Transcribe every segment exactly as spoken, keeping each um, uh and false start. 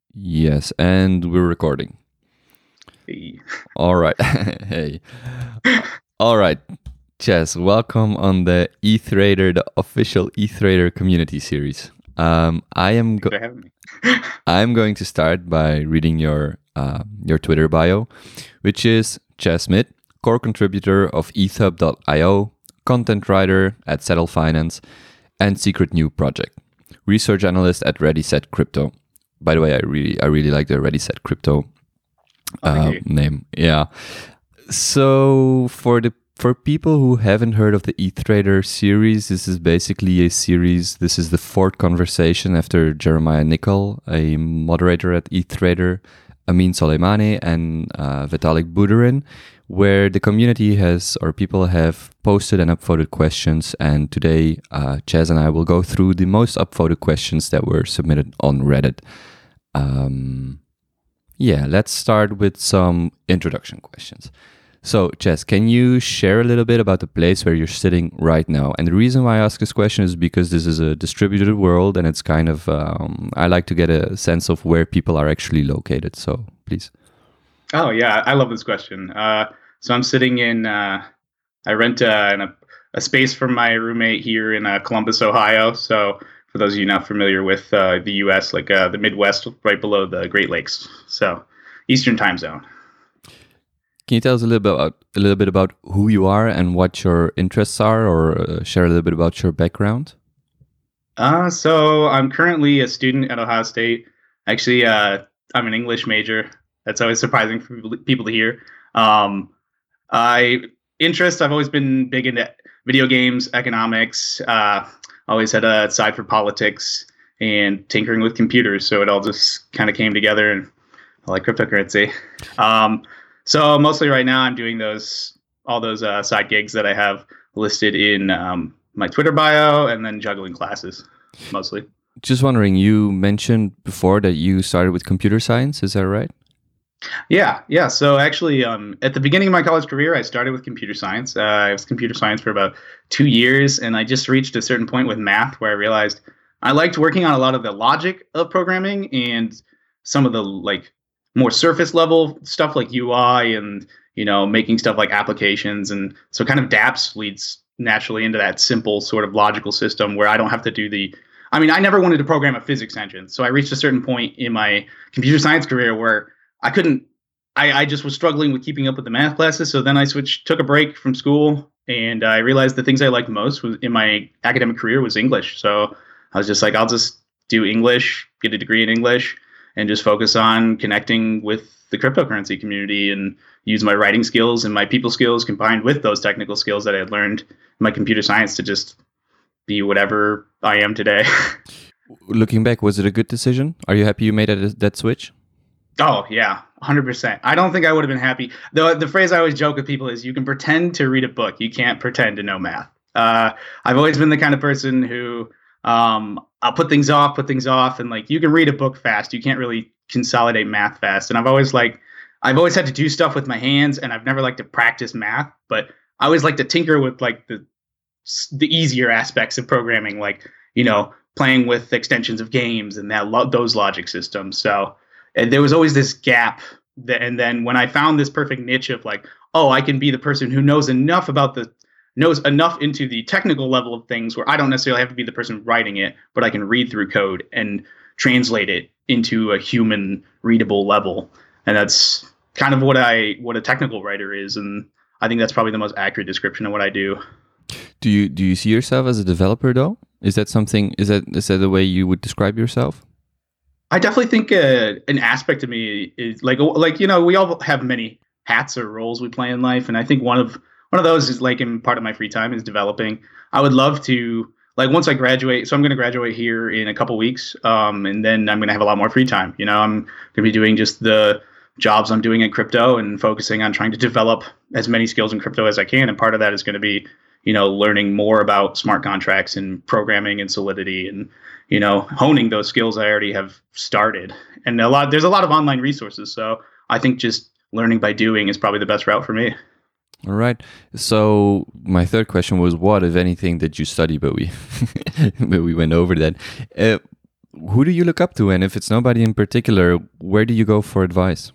Yes, and we're recording. Hey. All right. Hey. All right. Chess, welcome on the eThrader, the official eThrader community series. Um, I am Thanks go- for having me. I'm going to start by reading your uh, your Twitter bio, which is Chess Smith, core contributor of e thub dot io, content writer at Settle Finance, and Secret New Project, research analyst at Ready Set Crypto. By the way, I really I really like the Ready Set Crypto Oh, uh, thank you. name. Yeah. So for the for people who haven't heard of the eThrader series, this is basically a series. This is the fourth conversation after Jeremiah Nickel, a moderator at eThrader, Amin Soleimani, and uh, Vitalik Buterin, where the community has or people have posted and upvoted questions. And today, uh, Chaz and I will go through the most upvoted questions that were submitted on Reddit. Um, yeah, let's start with some introduction questions. So, Chess, can you share a little bit about the place where you're sitting right now? And the reason why I ask this question is because this is a distributed world, and it's kind of um, I like to get a sense of where people are actually located. So, please. Oh yeah, I love this question. Uh, so I'm sitting in. Uh, I rent uh, in a, a space from my roommate here in uh, Columbus, Ohio. So for those of you not familiar with uh, the U S, like uh, the Midwest, right below the Great Lakes. So Eastern Time Zone. Can you tell us a little bit about a little bit about who you are and what your interests are, or uh, share a little bit about your background? Uh, so I'm currently a student at Ohio State. Actually, uh, I'm an English major. That's always surprising for people people to hear. Um, I interest. I've always been big into video games, economics. Uh, always had a side for politics and tinkering with computers. So it all just kind of came together, and I like cryptocurrency. Um, so mostly right now, I'm doing those all those uh, side gigs that I have listed in um, my Twitter bio, and then juggling classes mostly. Just wondering, you mentioned before that you started with computer science. Is that right? Yeah, yeah. So actually, um, at the beginning of my college career, I started with computer science. Uh, I was computer science for about two years, and I just reached a certain point with math where I realized I liked working on a lot of the logic of programming and some of the like more surface level stuff like U I and you know making stuff like applications. And so kind of dApps leads naturally into that simple sort of logical system where I don't have to do the. I mean, I never wanted to program a physics engine, so I reached a certain point in my computer science career where I couldn't. I, I just was struggling with keeping up with the math classes. So then I switched, took a break from school, and I realized the things I liked most was in my academic career was English. So I was just like, I'll just do English, get a degree in English, and just focus on connecting with the cryptocurrency community and use my writing skills and my people skills combined with those technical skills that I had learned in my computer science to just be whatever I am today. Looking back, was it a good decision? Are you happy you made that, that switch? Oh yeah, one hundred percent. I don't think I would have been happy. The the phrase I always joke with people is you can pretend to read a book, you can't pretend to know math. Uh, I've always been the kind of person who um, I'll put things off, put things off, and like you can read a book fast, you can't really consolidate math fast. And I've always like I've always had to do stuff with my hands, and I've never liked to practice math, but I always like to tinker with like the the easier aspects of programming, like you know playing with extensions of games and that lo- those logic systems. So. And there was always this gap. That, and then when I found this perfect niche of like, oh, I can be the person who knows enough about the knows enough into the technical level of things where I don't necessarily have to be the person writing it, but I can read through code and translate it into a human readable level. And that's kind of what I what a technical writer is. And I think that's probably the most accurate description of what I do. Do you do you see yourself as a developer though? Is that something? Is that is that the way you would describe yourself? I definitely think uh, an aspect of me is like like you know we all have many hats or roles we play in life, and I think one of one of those is like in part of my free time is developing. I would love to like once I graduate. So I'm going to graduate here in a couple weeks, um, and then I'm going to have a lot more free time. You know, I'm going to be doing just the jobs I'm doing in crypto and focusing on trying to develop as many skills in crypto as I can. And part of that is going to be you know learning more about smart contracts and programming and Solidity and you know, honing those skills I already have started. And a lot, there's a lot of online resources. So I think just learning by doing is probably the best route for me. All right. So my third question was, what, if anything, did you study? But we, but we went over that. Uh, who do you look up to? And if it's nobody in particular, where do you go for advice?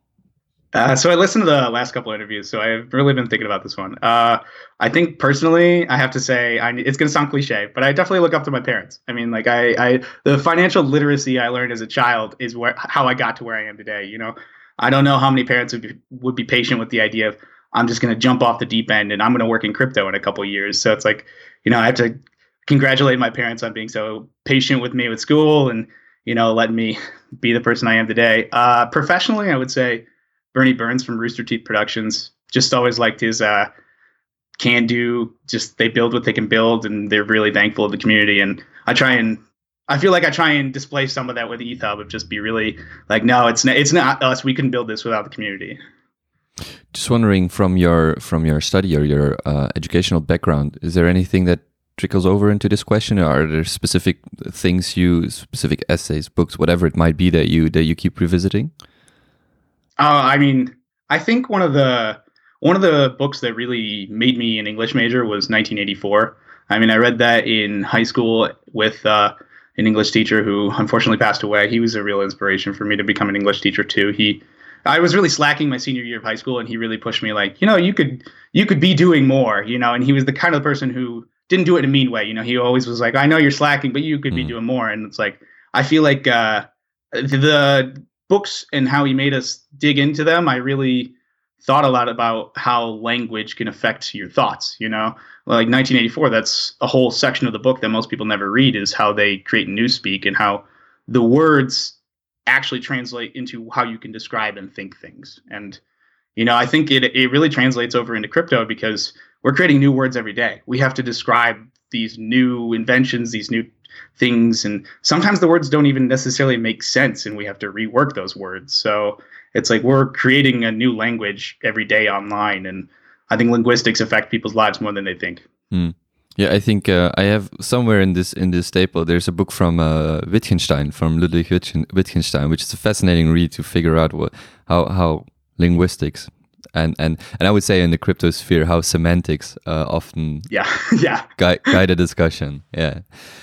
Uh, so I listened to the last couple of interviews, so I've really been thinking about this one. Uh, I think personally, I have to say, I, it's going to sound cliche, but I definitely look up to my parents. I mean, like I, I, the financial literacy I learned as a child is where how I got to where I am today. You know, I don't know how many parents would be, would be patient with the idea of I'm just going to jump off the deep end and I'm going to work in crypto in a couple of years. So it's like, you know, I have to congratulate my parents on being so patient with me with school and, you know, letting me be the person I am today. Uh, professionally, I would say Bernie Burns from Rooster Teeth Productions. Just always liked his uh, can do. Just they build what they can build, and they're really thankful of the community. And I try and I feel like I try and display some of that with ETHUB of just be really like, no, it's not, it's not us. We couldn't build this without the community. Just wondering from your from your study or your uh, educational background, is there anything that trickles over into this question? Or are there specific things you, specific essays, books, whatever it might be that you that you keep revisiting? Uh, I mean, I think one of the one of the books that really made me an English major was nineteen eighty-four. I mean, I read that in high school with uh, an English teacher who unfortunately passed away. He was a real inspiration for me to become an English teacher too. He, I was really slacking my senior year of high school, and he really pushed me like, you know, you could you could be doing more, you know. And he was the kind of person who didn't do it in a mean way. You know, he always was like, I know you're slacking, but you could mm. be doing more. And it's like, I feel like uh, the books and how he made us dig into them, I really thought a lot about how language can affect your thoughts, you know? Like nineteen eighty-four, that's a whole section of the book that most people never read, is how they create newspeak and how the words actually translate into how you can describe and think things. And, you know, I think it it really translates over into crypto because we're creating new words every day. We have to describe these new inventions, these new things, and sometimes the words don't even necessarily make sense and we have to rework those words. So it's like we're creating a new language every day online, and I think linguistics affect people's lives more than they think. Mm. Yeah, I think uh, I have somewhere in this in this staple, there's a book from uh, Wittgenstein, from Ludwig Wittgenstein, which is a fascinating read to figure out what how how linguistics and and and I would say in the crypto sphere how semantics uh, often yeah yeah guide, guide a discussion. Yeah.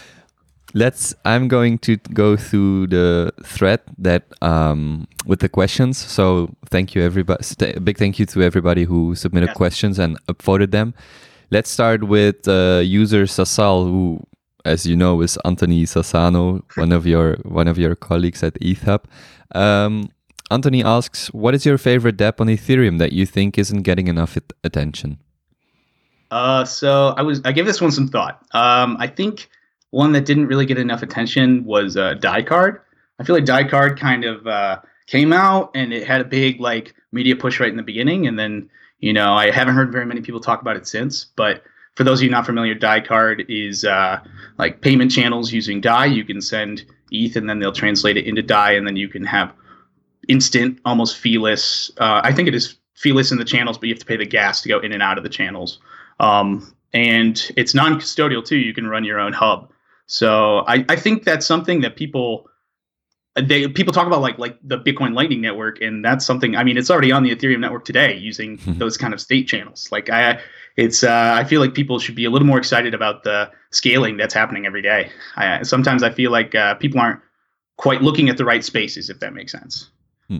Let's. I'm going to go through the thread that um, with the questions. So thank you, everybody. A big thank you to everybody who submitted yeah. questions and upvoted them. Let's start with uh, user Sasal, who, as you know, is Anthony Sassano, one of your one of your colleagues at ETHUB. Um, Anthony asks, "What is your favorite dApp on Ethereum that you think isn't getting enough it- attention?" Uh, so I was I gave this one some thought. Um, I think. One that didn't really get enough attention was uh, DieCard. I feel like DieCard kind of uh, came out and it had a big like media push right in the beginning, and then you know I haven't heard very many people talk about it since. But for those of you not familiar, DieCard is uh, like payment channels using Dai. You can send E T H and then they'll translate it into Dai, and then you can have instant, almost feeless. Uh, I think it is feeless in the channels, but you have to pay the gas to go in and out of the channels. Um, and it's non-custodial too. You can run your own hub. So I, I think that's something that people they people talk about like like the Bitcoin Lightning Network, and that's something. I mean, it's already on the Ethereum network today using those kind of state channels. Like I, it's uh, I feel like people should be a little more excited about the scaling that's happening every day. I, sometimes I feel like uh, people aren't quite looking at the right spaces, if that makes sense. Hmm.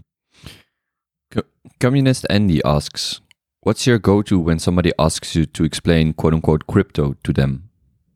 Co- Communist Andy asks, "What's your go-to when somebody asks you to explain quote unquote crypto to them?"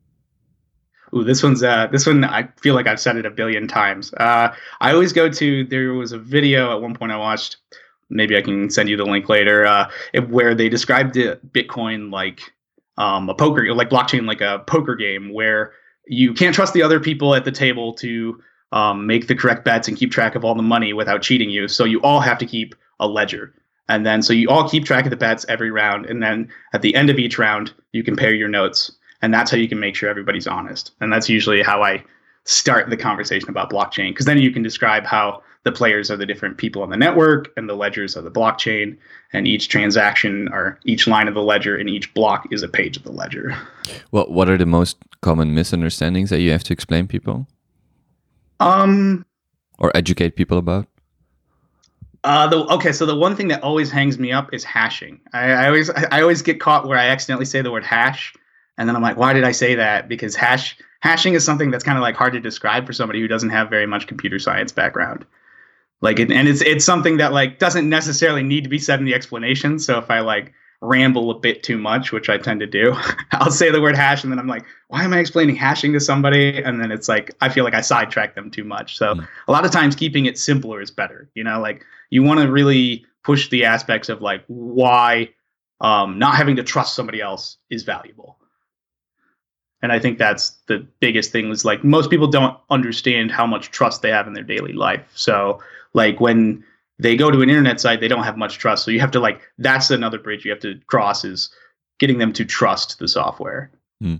Ooh, this one's uh, this one. I feel like I've said it a billion times. Uh, I always go to. There was a video at one point I watched. Maybe I can send you the link later. Uh, it, where they described it, Bitcoin like um, a poker, like blockchain, like a poker game, where you can't trust the other people at the table to um, make the correct bets and keep track of all the money without cheating you. So you all have to keep a ledger, and then so you all keep track of the bets every round, and then at the end of each round, you compare your notes. And that's how you can make sure everybody's honest. And that's usually how I start the conversation about blockchain, because then you can describe how the players are the different people on the network and the ledgers are the blockchain, and each transaction or each line of the ledger and each block is a page of the ledger. Well, what are the most common misunderstandings that you have to explain people? Um, or educate people about? Uh, the, okay, so the one thing that always hangs me up is hashing. I, I always I always get caught where I accidentally say the word hash. And then I'm like, why did I say that? Because hash hashing is something that's kind of like hard to describe for somebody who doesn't have very much computer science background. Like, it, and it's it's something that like doesn't necessarily need to be said in the explanation. So if I like ramble a bit too much, which I tend to do, I'll say the word hash, and then I'm like, why am I explaining hashing to somebody? And then it's like I feel like I sidetrack them too much. So mm. a lot of times keeping it simpler is better. You know, like you want to really push the aspects of like why um, not having to trust somebody else is valuable. And I think that's the biggest thing is like most people don't understand how much trust they have in their daily life. So like when they go to an internet site, they don't have much trust. So you have to like, that's another bridge you have to cross is getting them to trust the software. Hmm.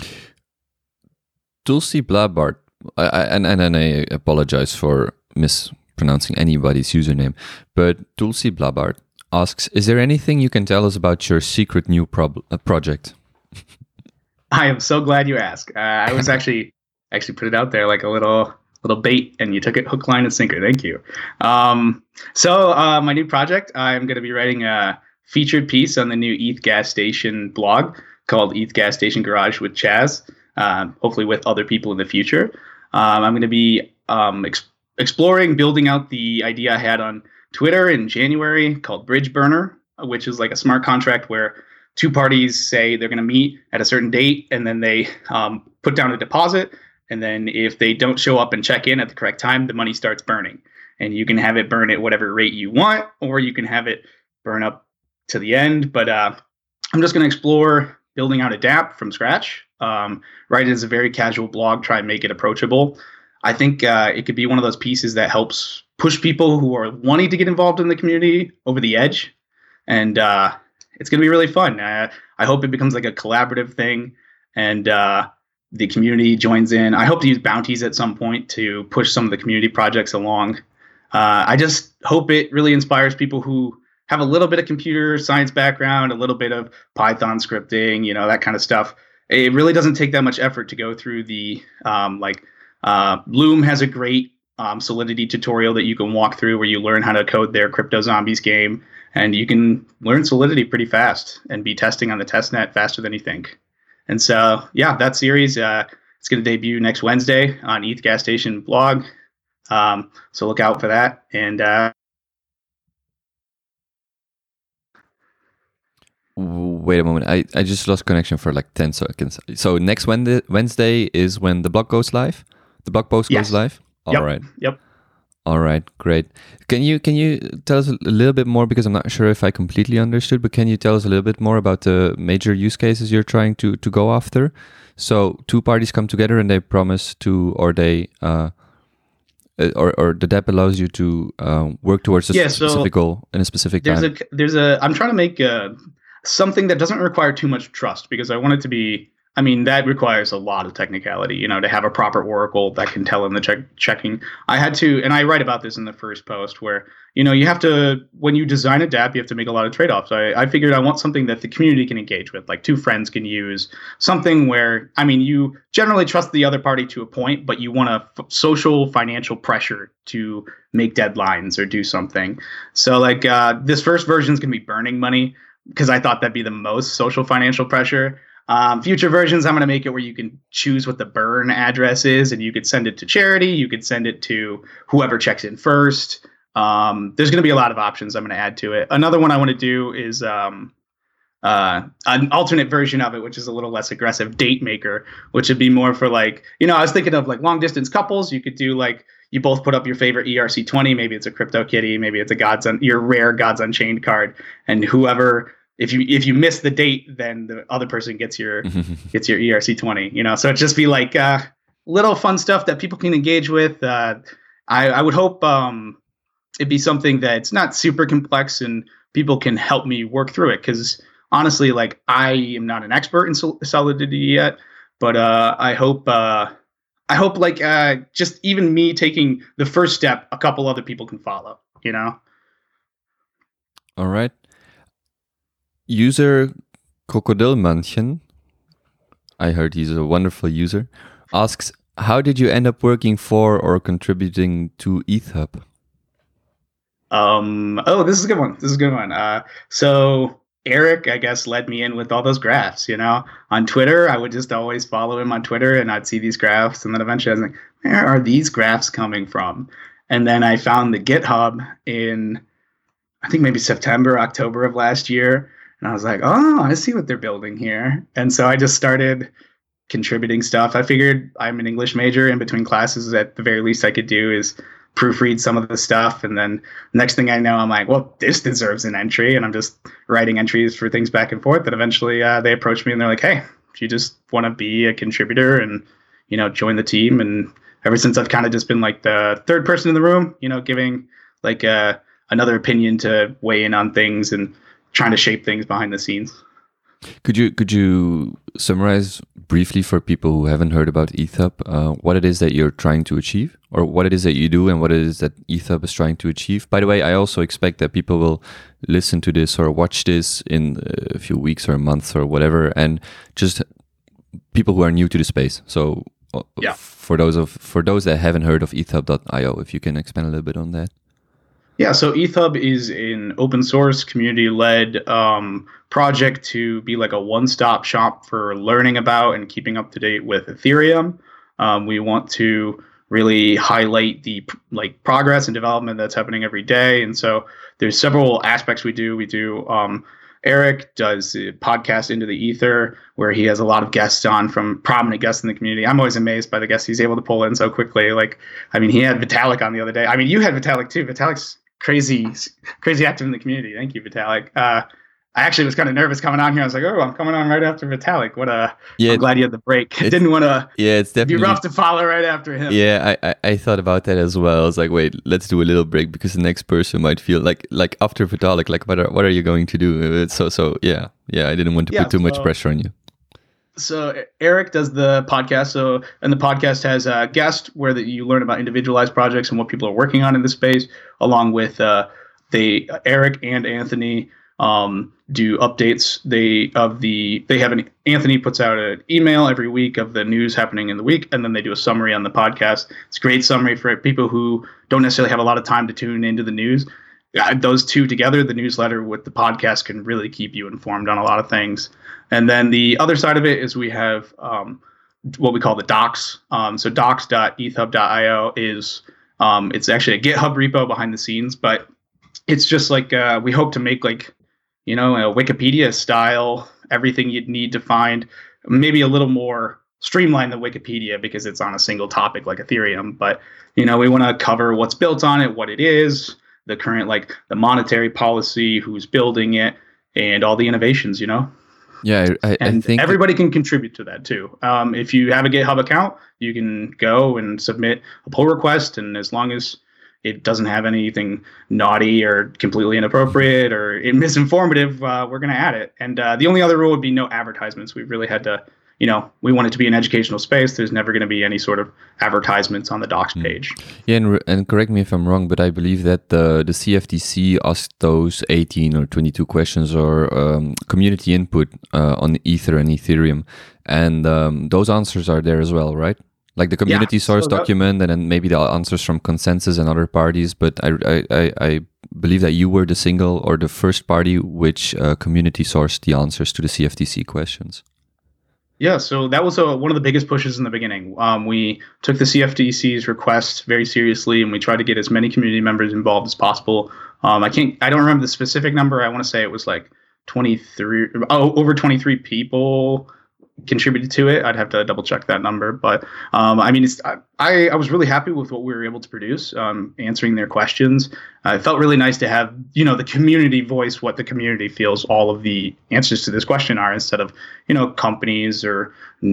Tulsi Blabart, I, I, and, and I apologize for mispronouncing anybody's username, but Tulsi Blabart asks, is there anything you can tell us about your secret new prob- uh, project? I am so glad you asked. Uh, I was actually actually put it out there like a little little bait, and you took it hook, line, and sinker. Thank you. Um, so uh, my new project, I'm going to be writing a featured piece on the new E T H Gas Station blog called E T H Gas Station Garage with Chaz, uh, hopefully with other people in the future. Um, I'm going to be um, ex- exploring, building out the idea I had on Twitter in January called Bridge Burner, which is like a smart contract where two parties say they're going to meet at a certain date, and then they um, put down a deposit. And then if they don't show up and check in at the correct time, the money starts burning. And you can have it burn at whatever rate you want, or you can have it burn up to the end. But uh, I'm just going to explore building out a dApp from scratch. Um, write it as a very casual blog, try and make it approachable. I think uh, it could be one of those pieces that helps push people who are wanting to get involved in the community over the edge. And uh, it's going to be really fun. Uh, I hope it becomes like a collaborative thing, and uh, the community joins in. I hope to use bounties at some point to push some of the community projects along. Uh, I just hope it really inspires people who have a little bit of computer science background, a little bit of Python scripting, you know, that kind of stuff. It really doesn't take that much effort to go through the, um, like, uh, Loom has a great um, Solidity tutorial that you can walk through where you learn how to code their Crypto Zombies game. And you can learn Solidity pretty fast and be testing on the testnet faster than you think. And so, yeah, that series, uh, it's going to debut next Wednesday on E T H Gas Station blog. Um, so look out for that. And uh, wait a moment, I, I just lost connection for like ten seconds. So next Wednesday, Wednesday is when the blog goes live? The blog post yes. goes live? All yep. right. Yep. All right, great. Can you can you tell us a little bit more, because I'm not sure if I completely understood, but can you tell us a little bit more about the major use cases you're trying to, to go after? So two parties come together and they promise to, or they, uh, or or the dApp allows you to uh, work towards a yeah, specific so goal in a specific there's time. A, there's a, I'm trying to make a, something that doesn't require too much trust, because I want it to be, I mean, that requires a lot of technicality, you know, to have a proper oracle that can tell them the check checking. I had to, and I write about this in the first post where, you know, you have to, when you design a dApp, you have to make a lot of trade-offs. I, I figured I want something that the community can engage with, like two friends can use, something where, I mean, you generally trust the other party to a point, but you want a f- social financial pressure to make deadlines or do something. So like uh, this first version is going to be burning money, because I thought that'd be the most social financial pressure. Um, future versions, I'm going to make it where you can choose what the burn address is, and you could send it to charity. You could send it to whoever checks in first. Um, there's going to be a lot of options I'm going to add to it. Another one I want to do is um, uh, an alternate version of it, which is a little less aggressive, Date Maker, which would be more for like, you know, I was thinking of like long distance couples. You could do like, you both put up your favorite E R C twenty. Maybe it's a CryptoKitty. Maybe it's a Gods Un- your rare Gods Unchained card. And whoever... If you if you miss the date, then the other person gets your gets your E R C twenty. You know, so it'd just be like uh, little fun stuff that people can engage with. Uh, I I would hope um, it'd be something that's not super complex and people can help me work through it. Because honestly, like I am not an expert in sol- Solidity yet, but uh, I hope uh, I hope like uh, just even me taking the first step, a couple other people can follow. You know. All right. User Krokodilmannchen, I heard he's a wonderful user, asks, how did you end up working for or contributing to ETHUB? Um, oh, this is a good one. This is a good one. Uh, so Eric, I guess, led me in with all those graphs. You know, on Twitter, I would just always follow him on Twitter, and I'd see these graphs, and then eventually I was like, where are these graphs coming from? And then I found the GitHub in, I think maybe September, October of last year, and I was like, oh, I see what they're building here. And so I just started contributing stuff. I figured I'm an English major. In between classes, at the very least I could do is proofread some of the stuff. And then next thing I know, I'm like, well, this deserves an entry. And I'm just writing entries for things back and forth. And eventually uh, they approached me and they're like, hey, if you just want to be a contributor and, you know, join the team. And ever since I've kind of just been like the third person in the room, you know, giving like uh, another opinion to weigh in on things and trying to shape things behind the scenes. Could you could you summarize briefly for people who haven't heard about ETHUB uh, what it is that you're trying to achieve, or what it is that you do, and what it is that ETHUB is trying to achieve? By the way, I also expect that people will listen to this or watch this in a few weeks or months or whatever, and just people who are new to the space. So, uh, yeah. for those of for those that haven't heard of ETHUB dot io, if you can expand a little bit on that. Yeah, so ETHUB is an open source, community-led um, project to be like a one-stop shop for learning about and keeping up to date with Ethereum. Um, we want to really highlight the like progress and development that's happening every day. And so there's several aspects we do. We do um, Eric does a podcast Into the Ether, where he has a lot of guests on from prominent guests in the community. I'm always amazed by the guests he's able to pull in so quickly. Like, I mean, he had Vitalik on the other day. I mean, you had Vitalik too. Vitalik's crazy, crazy active in the community. Thank you, Vitalik. Uh, I actually was kind of nervous coming on here. I was like, oh, I'm coming on right after Vitalik. What a, yeah, I'm glad you had the break. I didn't want to yeah, it's definitely be rough to follow right after him. Yeah, I, I, I thought about that as well. I was like, wait, let's do a little break because the next person might feel like, like after Vitalik, like, what are, what are you going to do? So, so yeah, yeah, I didn't want to yeah, put too so, much pressure on you. So Eric does the podcast. So, and the podcast has a guest where that you learn about individualized projects and what people are working on in the space, along with uh, they Eric and Anthony um, do updates. They of the they have an Anthony puts out an email every week of the news happening in the week, and then they do a summary on the podcast. It's a great summary for people who don't necessarily have a lot of time to tune into the news. Uh, those two together, the newsletter with the podcast, can really keep you informed on a lot of things. And then the other side of it is we have um, what we call the docs. Um, so docs dot ethub dot io is um, it's actually a GitHub repo behind the scenes, but it's just like uh, we hope to make like, you know, a Wikipedia style, everything you'd need to find, maybe a little more streamlined than Wikipedia because it's on a single topic like Ethereum. But, you know, we want to cover what's built on it, what it is, the current, like the monetary policy, who's building it, and all the innovations, you know? Yeah, I, I, and I think everybody can contribute to that too. Um, if you have a GitHub account, you can go and submit a pull request, and as long as it doesn't have anything naughty or completely inappropriate or misinformative, uh, we're going to add it. And uh, the only other rule would be no advertisements. We've really had to, you know, we want it to be an educational space. There's never going to be any sort of advertisements on the docs page. Yeah, and, and correct me if I'm wrong, but I believe that the, the C F T C asked those eighteen or twenty-two questions or um, community input uh, on Ether and Ethereum. And um, those answers are there as well, right? Like the community yeah, source so that, document, and then maybe the answers from Consensus and other parties. But I, I, I believe that you were the single or the first party which uh, community sourced the answers to the C F T C questions. Yeah, so that was a, one of the biggest pushes in the beginning. Um, we took the C F T C's request very seriously, and we tried to get as many community members involved as possible. Um, I can't, I don't remember the specific number. I want to say it was like twenty-three, oh, over twenty-three people contributed to it. I'd have to double check that number, but um, I mean, it's, I, I was really happy with what we were able to produce, um, answering their questions. Uh, it felt really nice to have, you know, the community voice what the community feels all of the answers to this question are, instead of, you know, companies or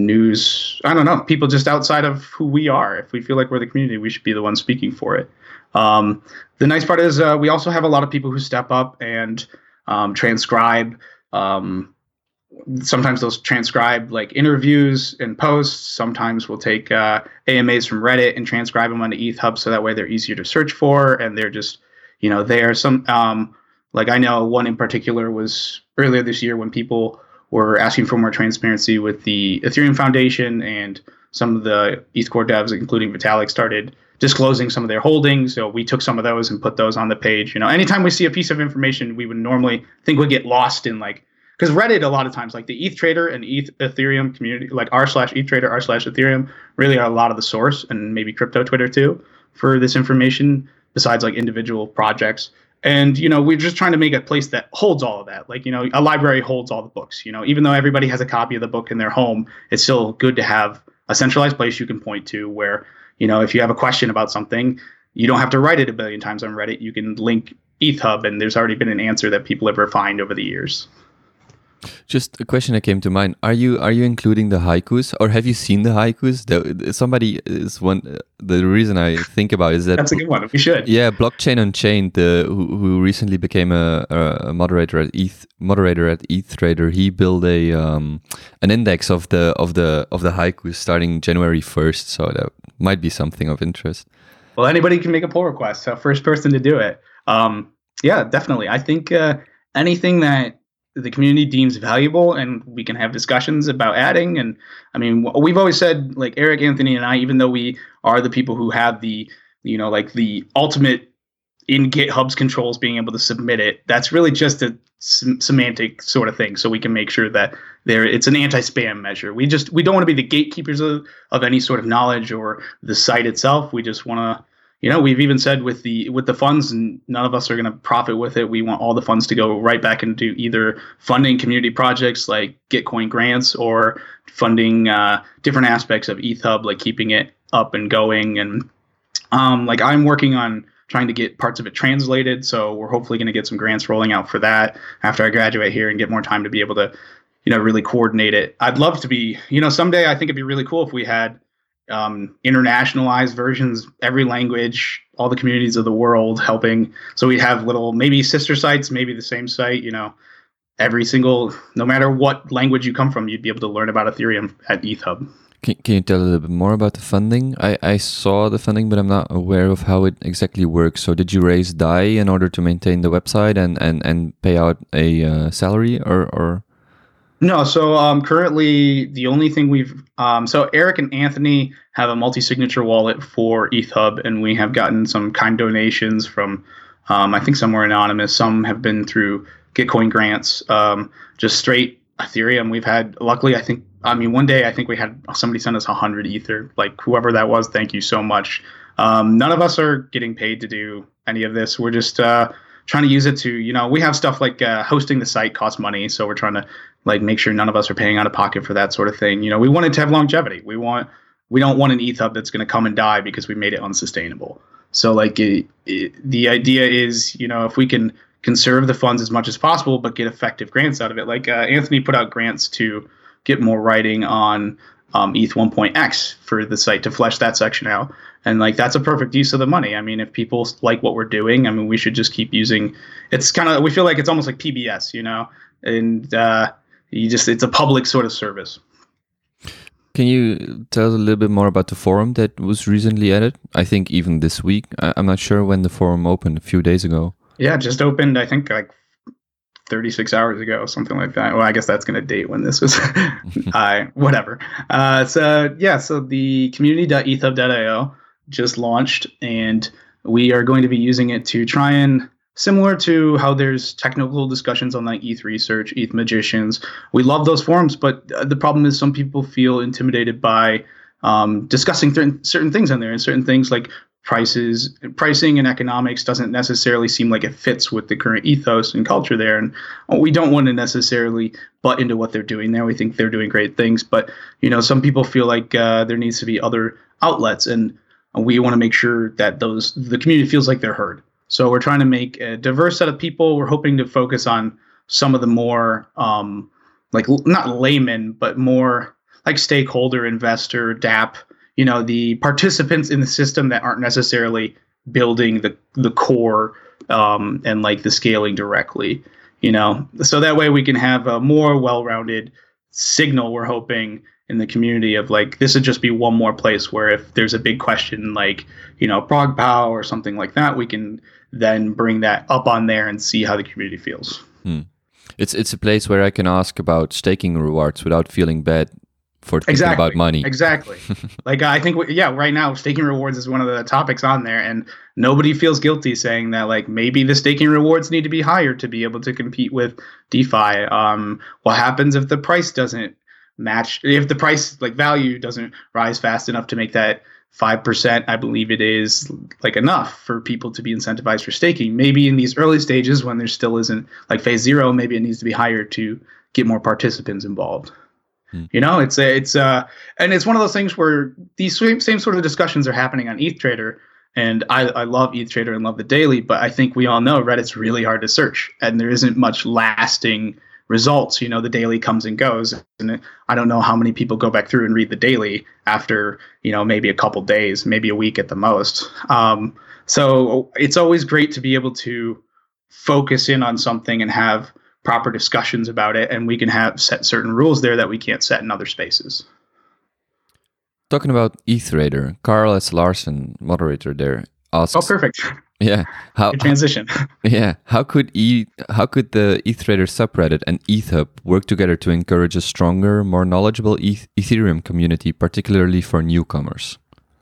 news. I don't know, people just outside of who we are. If we feel like we're the community, we should be the ones speaking for it. Um, the nice part is uh, we also have a lot of people who step up and um, transcribe. Um, Sometimes they'll transcribe like interviews and posts. Sometimes we'll take uh, A M As from Reddit and transcribe them onto ETHUB, so that way they're easier to search for, and they're just, you know, there. Some um, like I know one in particular was earlier this year when people were asking for more transparency with the Ethereum Foundation and some of the ETH core devs, including Vitalik, started disclosing some of their holdings. So we took some of those and put those on the page. You know, anytime we see a piece of information we would normally think would get lost in, like, because Reddit a lot of times, like the E T H Trader and E T H Ethereum community, like r slash E T H Trader, r slash Ethereum, really are a lot of the source, and maybe crypto Twitter too, for this information, besides like individual projects. And, you know, we're just trying to make a place that holds all of that. Like, you know, a library holds all the books. You know, even though everybody has a copy of the book in their home, it's still good to have a centralized place you can point to where, you know, if you have a question about something, you don't have to write it a billion times on Reddit. You can link ETHUB, and there's already been an answer that people have refined over the years. Just a question that came to mind: Are you are you including the haikus, or have you seen the haikus? The, somebody is one. The reason I think about it is that that's a good one. We should. Yeah, Blockchain Unchained, the who, who recently became a, a moderator at E T H moderator at E T H Trader. He built a um an index of the of the of the haikus starting January first. So that might be something of interest. Well, anybody can make a pull request. So first person to do it. Um, yeah, definitely. I think uh, anything that the community deems valuable and we can have discussions about adding. And I mean, we've always said, like Eric, Anthony, and I, even though we are the people who have the, you know, like the ultimate in GitHub's controls being able to submit it, that's really just a sem- semantic sort of thing. So we can make sure that there, it's an anti-spam measure. We just, we don't want to be the gatekeepers of, of any sort of knowledge or the site itself. We just want to, you know, we've even said with the with the funds, and none of us are going to profit with it. We want all the funds to go right back into either funding community projects like Gitcoin grants or funding uh, different aspects of ETHUB, like keeping it up and going. And um, like I'm working on trying to get parts of it translated. So we're hopefully going to get some grants rolling out for that after I graduate here and get more time to be able to, you know, really coordinate it. I'd love to be, you know, someday I think it'd be really cool if we had um, internationalized versions, every language, all the communities of the world helping. So we have little, maybe sister sites, maybe the same site, you know, every single, no matter what language you come from, you'd be able to learn about Ethereum at ETHUB. Can, can you tell a little bit more about the funding? I, I saw the funding, but I'm not aware of how it exactly works. So did you raise D A I in order to maintain the website and, and, and pay out a uh, salary or, or? No, so um, currently the only thing we've um, so Eric and Anthony have a multi-signature wallet for ETHUB, and we have gotten some kind donations from um, I think some were anonymous, some have been through Gitcoin grants, um, just straight Ethereum. We've had, luckily, I think, I mean, one day I think we had somebody send us one hundred Ether, like whoever that was. Thank you so much. Um, none of us are getting paid to do any of this. We're just uh, trying to use it to, you know, we have stuff like uh, hosting the site costs money, so we're trying to like make sure none of us are paying out of pocket for that sort of thing. You know, we want it to have longevity. We want, we don't want an ETHUB that's going to come and die because we made it unsustainable. So like it, it, the idea is, you know, if we can conserve the funds as much as possible, but get effective grants out of it. Like uh, Anthony put out grants to get more writing on um, E T H one point X for the site to flesh that section out. And like, that's a perfect use of the money. I mean, if people like what we're doing, I mean, we should just keep using, it's kind of, we feel like it's almost like P B S, you know, and uh, you just, it's a public sort of service. Can you tell us a little bit more about the forum that was recently added? I think even this week. I, I'm not sure when the forum opened, a few days ago. Yeah, it just opened, I think, like thirty-six hours ago, something like that. Well, I guess that's going to date when this was, uh, whatever. Uh, so, yeah, so the community dot ethub dot io just launched, and we are going to be using it to try and, similar to how there's technical discussions on like E T H Research, E T H Magicians, we love those forums, but the problem is some people feel intimidated by um, discussing th- certain things on there, and certain things like prices, pricing and economics doesn't necessarily seem like it fits with the current ethos and culture there. And we don't want to necessarily butt into what they're doing there. We think they're doing great things, but you know, some people feel like uh, there needs to be other outlets, and we want to make sure that those, the community feels like they're heard. So we're trying to make a diverse set of people. We're hoping to focus on some of the more um, like not laymen, but more like stakeholder, investor, dApp, you know, the participants in the system that aren't necessarily building the the core um, and like the scaling directly, you know, so that way we can have a more well-rounded signal, we're hoping, in the community of like, this would just be one more place where if there's a big question like, you know, ProgPow or something like that, we can then bring that up on there and see how the community feels. Hmm. It's it's a place where I can ask about staking rewards without feeling bad for thinking exactly. about money. Exactly. Like I think, we, yeah, right now staking rewards is one of the topics on there, and nobody feels guilty saying that like maybe the staking rewards need to be higher to be able to compete with DeFi. Um, what happens if the price doesn't match? If the price like value doesn't rise fast enough to make that five percent, I believe it is like enough for people to be incentivized for staking. Maybe in these early stages when there still isn't like phase zero, maybe it needs to be higher to get more participants involved. You know, it's a, it's uh, and it's one of those things where these same, same sort of discussions are happening on ETHTrader, and I, I love ETHTrader and love the daily, but I think we all know Reddit's really hard to search, and there isn't much lasting results. You know, the daily comes and goes, and I don't know how many people go back through and read the daily after, you know, maybe a couple days, maybe a week at the most. Um, so it's always great to be able to focus in on something and have proper discussions about it, and we can have set certain rules there that we can't set in other spaces. Talking about ETHTrader, Carl S. Larson, moderator there, asks. Oh, perfect. Yeah. How, Good transition. Yeah. How could e how could the ETHTrader subreddit and ETHUB work together to encourage a stronger, more knowledgeable ETH Ethereum community, particularly for newcomers?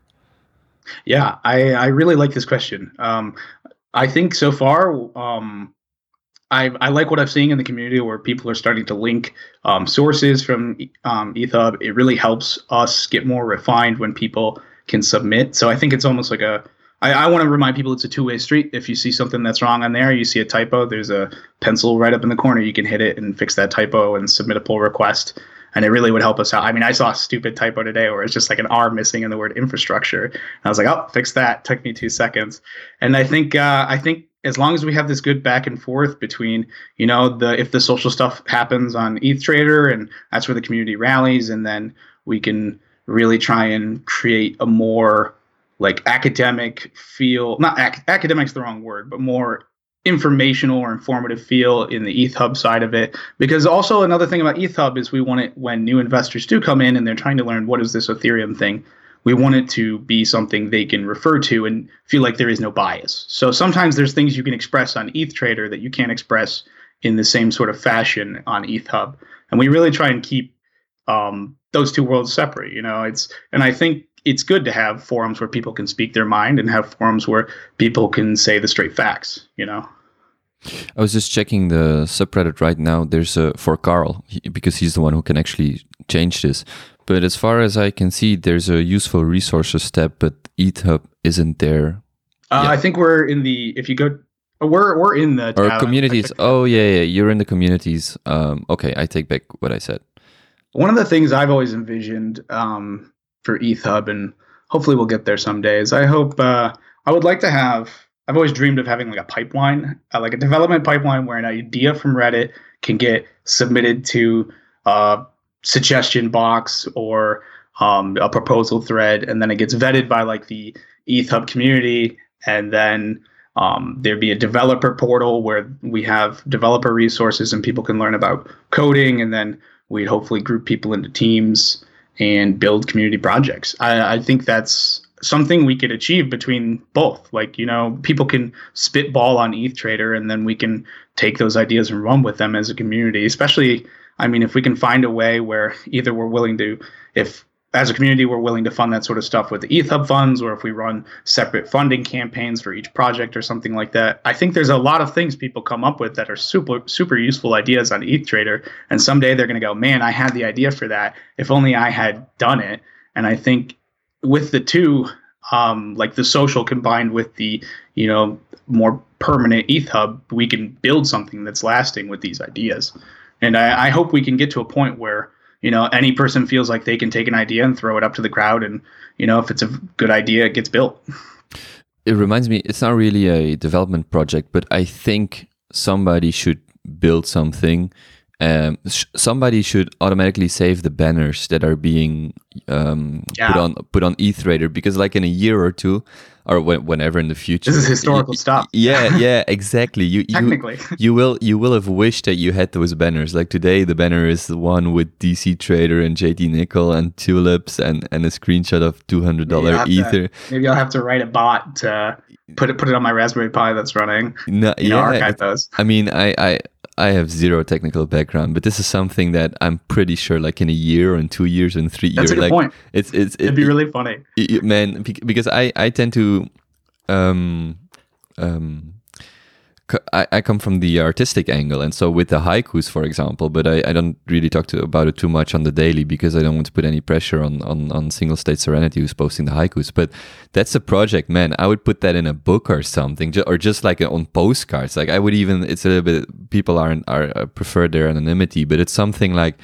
Yeah, I, I really like this question. Um, I think so far, um, I, I like what I'm seeing in the community where people are starting to link um, sources from um, ETHUB. It really helps us get more refined when people can submit. So I think it's almost like a, I, I want to remind people it's a two-way street. If you see something that's wrong on there, you see a typo, there's a pencil right up in the corner. You can hit it and fix that typo and submit a pull request. And it really would help us out. I mean, I saw a stupid typo today where it's just like an R missing in the word infrastructure. And I was like, oh, fix that. Took me two seconds. And I think, uh, I think, as long as we have this good back and forth between, you know, the if the social stuff happens on ETHTrader and that's where the community rallies, and then we can really try and create a more like academic feel, not ac- academic's the wrong word, but more informational or informative feel in the ETHUB side of it. Because also another thing about ETHUB is we want it when new investors do come in and they're trying to learn what is this Ethereum thing, we want it to be something they can refer to and feel like there is no bias. So sometimes there's things you can express on ETHTrader that you can't express in the same sort of fashion on ETHUB. And we really try and keep um, those two worlds separate. You know, it's and I think it's good to have forums where people can speak their mind and have forums where people can say the straight facts, you know. I was just checking the subreddit right now. There's a, for Carl, he, because he's the one who can actually change this. But as far as I can see, there's a useful resources tab, but ETHUB isn't there. Uh, I think we're in the, if you go, we're we're in the or communities. Oh, yeah, yeah, you're in the communities. Um, okay, I take back what I said. One of the things I've always envisioned um, for ETHUB, and hopefully we'll get there some days, I hope, uh, I would like to have, I've always dreamed of having like a pipeline, uh, like a development pipeline where an idea from Reddit can get submitted to uh suggestion box or um, a proposal thread, and then it gets vetted by like the ETHUB community, and then um, there'd be a developer portal where we have developer resources and people can learn about coding, and then we'd hopefully group people into teams and build community projects. I, I think that's something we could achieve between both. Like, you know, people can spitball on ETHTrader, and then we can take those ideas and run with them as a community, especially I mean, if we can find a way where either we're willing to, if as a community we're willing to fund that sort of stuff with the ETHUB funds, or if we run separate funding campaigns for each project or something like that, I think there's a lot of things people come up with that are super, super useful ideas on ETHTrader. And someday they're going to go, man, I had the idea for that. If only I had done it. And I think with the two, um, like the social combined with the, you know, more permanent ETHUB, we can build something that's lasting with these ideas. And I, I hope we can get to a point where, you know, any person feels like they can take an idea and throw it up to the crowd. And, you know, if it's a good idea, it gets built. It reminds me, it's not really a development project, but I think somebody should build something. Um, sh- somebody should automatically save the banners that are being um, yeah. put on put on ETHTrader, because like in a year or two, or when, whenever in the future, this is historical you, stuff. Yeah, yeah, exactly. You technically you, you will you will have wished that you had those banners. Like today, the banner is the one with D C Trader and J T Nickel and tulips and, and a screenshot of two hundred dollar Ether. To, maybe I'll have to write a bot to put it put it on my Raspberry Pi that's running. No, you yeah, know, archive those. I mean, I. I I have zero technical background, but this is something that I'm pretty sure, like in a year, or in two years, and three That's years, a good like point. it's it's It'd it, be really funny. it, it- man, bec- because I I tend to um um. c- I, I come from the artistic angle, and so with the haikus, for example, but I, I don't really talk to, about it too much on the daily because I don't want to put any pressure on, on, on Single State Serenity, who's posting the haikus. But that's a project, man. I would put that in a book or something, ju- or just like on postcards. Like I would even, it's a little bit, people are, are uh, prefer their anonymity, but it's something like,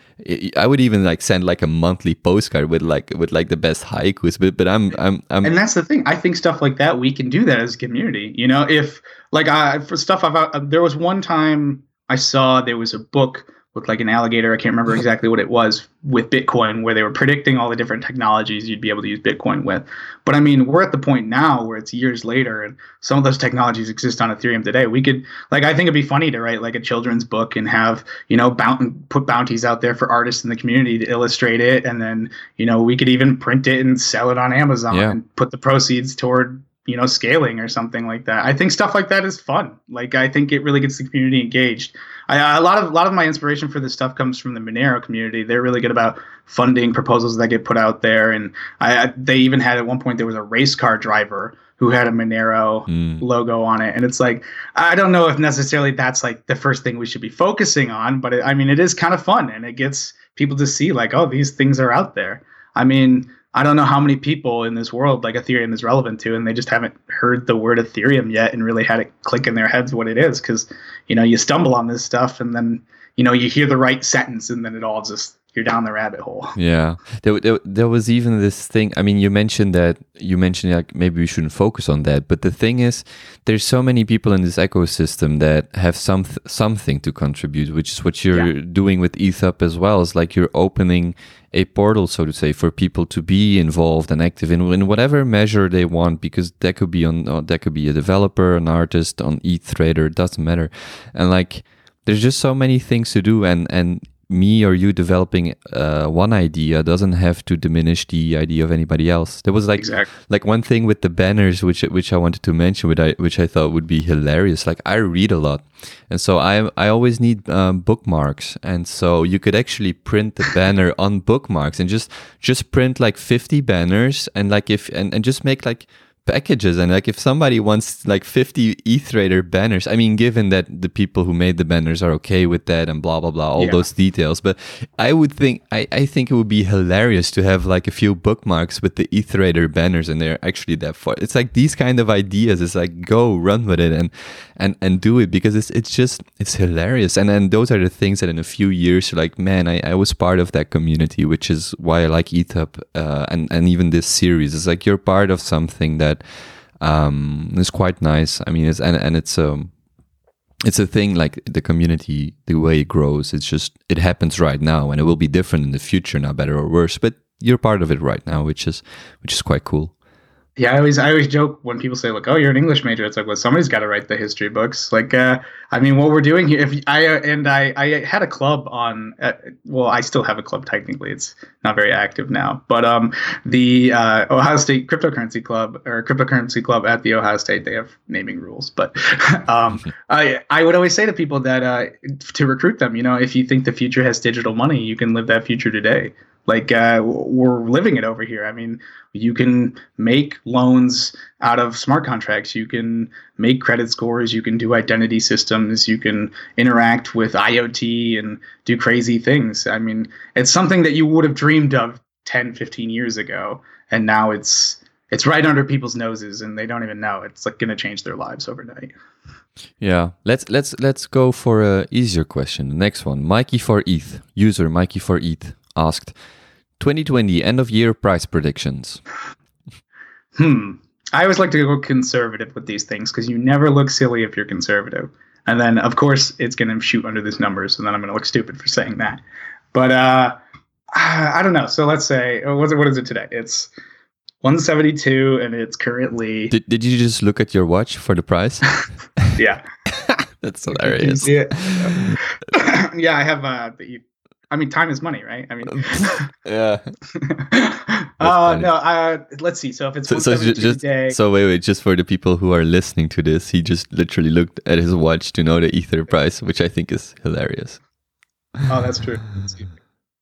I I would even like send like a monthly postcard with like with like the best haikus. But but I'm I'm I'm And that's the thing. I think stuff like that, we can do that as a community. You know, if like I for stuff I've uh, there was one time I saw there was a book with like an alligator. I can't remember exactly what it was with Bitcoin, where they were predicting all the different technologies you'd be able to use Bitcoin with. But I mean, we're at the point now where it's years later, and some of those technologies exist on Ethereum today. We could like I think it'd be funny to write like a children's book and have you know bount- put bounties out there for artists in the community to illustrate it, and then you know we could even print it and sell it on Amazon Yeah. and put the proceeds toward you know scaling or something like that. I think stuff like that is fun. Like I think it really gets the community engaged. I, a lot of a lot of my inspiration for this stuff comes from the Monero community. They're really good about funding proposals that get put out there, and I, I they even had at one point there was a race car driver who had a Monero Mm. logo on it, and it's like I don't know if necessarily that's like the first thing we should be focusing on, but it, I mean it is kind of fun, and it gets people to see like oh these things are out there. I mean. I don't know how many people in this world like Ethereum is relevant to, and they just haven't heard the word Ethereum yet and really had it click in their heads what it is. Because, you know, you stumble on this stuff and then, you know, you hear the right sentence and then it all just, you're down the rabbit hole. Yeah, there, there, there was even this thing. I mean, you mentioned that you mentioned like maybe we shouldn't focus on that, but the thing is, there's so many people in this ecosystem that have some something to contribute, which is what you're Yeah. doing with ETHUP as well. It's like you're opening a portal, so to say, for people to be involved and active in, in whatever measure they want, because that could be on uh, that could be a developer, an artist, on E T H trader, it doesn't matter, and like there's just so many things to do, and and. me or you developing uh, one idea doesn't have to diminish the idea of anybody else. There was like Exactly. like one thing with the banners, which which I wanted to mention, which I which I thought would be hilarious. Like I read a lot, and so I I always need um, bookmarks, and so you could actually print the banner on bookmarks and just just print like fifty banners, and like if and, and just make like packages, and like if somebody wants like fifty E T H trader banners, I mean given that the people who made the banners are okay with that and blah blah blah, all Yeah. those details, but I would think I, I think it would be hilarious to have like a few bookmarks with the E T H trader banners, and they're actually that far. It's like these kind of ideas, it's like go run with it and and and do it, because it's it's just it's hilarious. And then those are the things that in a few years you're like, man, I, I was part of that community, which is why I like ETHUP uh, and and even this series. It's like you're part of something that um is quite nice. I mean, it's and and it's um it's a thing, like the community, the way it grows, it's just it happens right now, and it will be different in the future, not better or worse, but you're part of it right now, which is which is quite cool. Yeah, I always I always joke when people say like, "Oh, you're an English major." It's like, well, somebody's got to write the history books. Like, uh, I mean, what we're doing here. If I uh, and I, I had a club on. Uh, well, I still have a club technically. It's not very active now, but um, the uh, Ohio State Cryptocurrency Club or Cryptocurrency Club at the Ohio State, they have naming rules. But um, I I would always say to people that uh, to recruit them, you know, if you think the future has digital money, you can live that future today. Like uh, we're living it over here. I mean, you can make loans out of smart contracts. You can make credit scores. You can do identity systems. You can interact with I O T and do crazy things. I mean, it's something that you would have dreamed of ten, fifteen years ago. And now it's it's right under people's noses and they don't even know. It's like going to change their lives overnight. Yeah, let's let's let's go for a easier question. The next one, Mikey for E T H, user Mikey for E T H asked, twenty twenty end of year price predictions. Hmm. I always like to go conservative with these things because you never look silly if you're conservative. And then, of course, it's going to shoot under this number, so then I'm going to look stupid for saying that. But uh, I don't know. So let's say, what is it, what is it today? It's one seventy-two, and it's currently... Did, did you just look at your watch for the price? Yeah. That's hilarious. Yeah, yeah I have uh, the I mean, time is money, right? I mean, yeah. uh, no. Uh, let's see. So if it's so, so just, just day, so wait, wait, just for the people who are listening to this, he just literally looked at his watch to know the Ether price, which I think is hilarious. Oh, that's true. Let's see. Can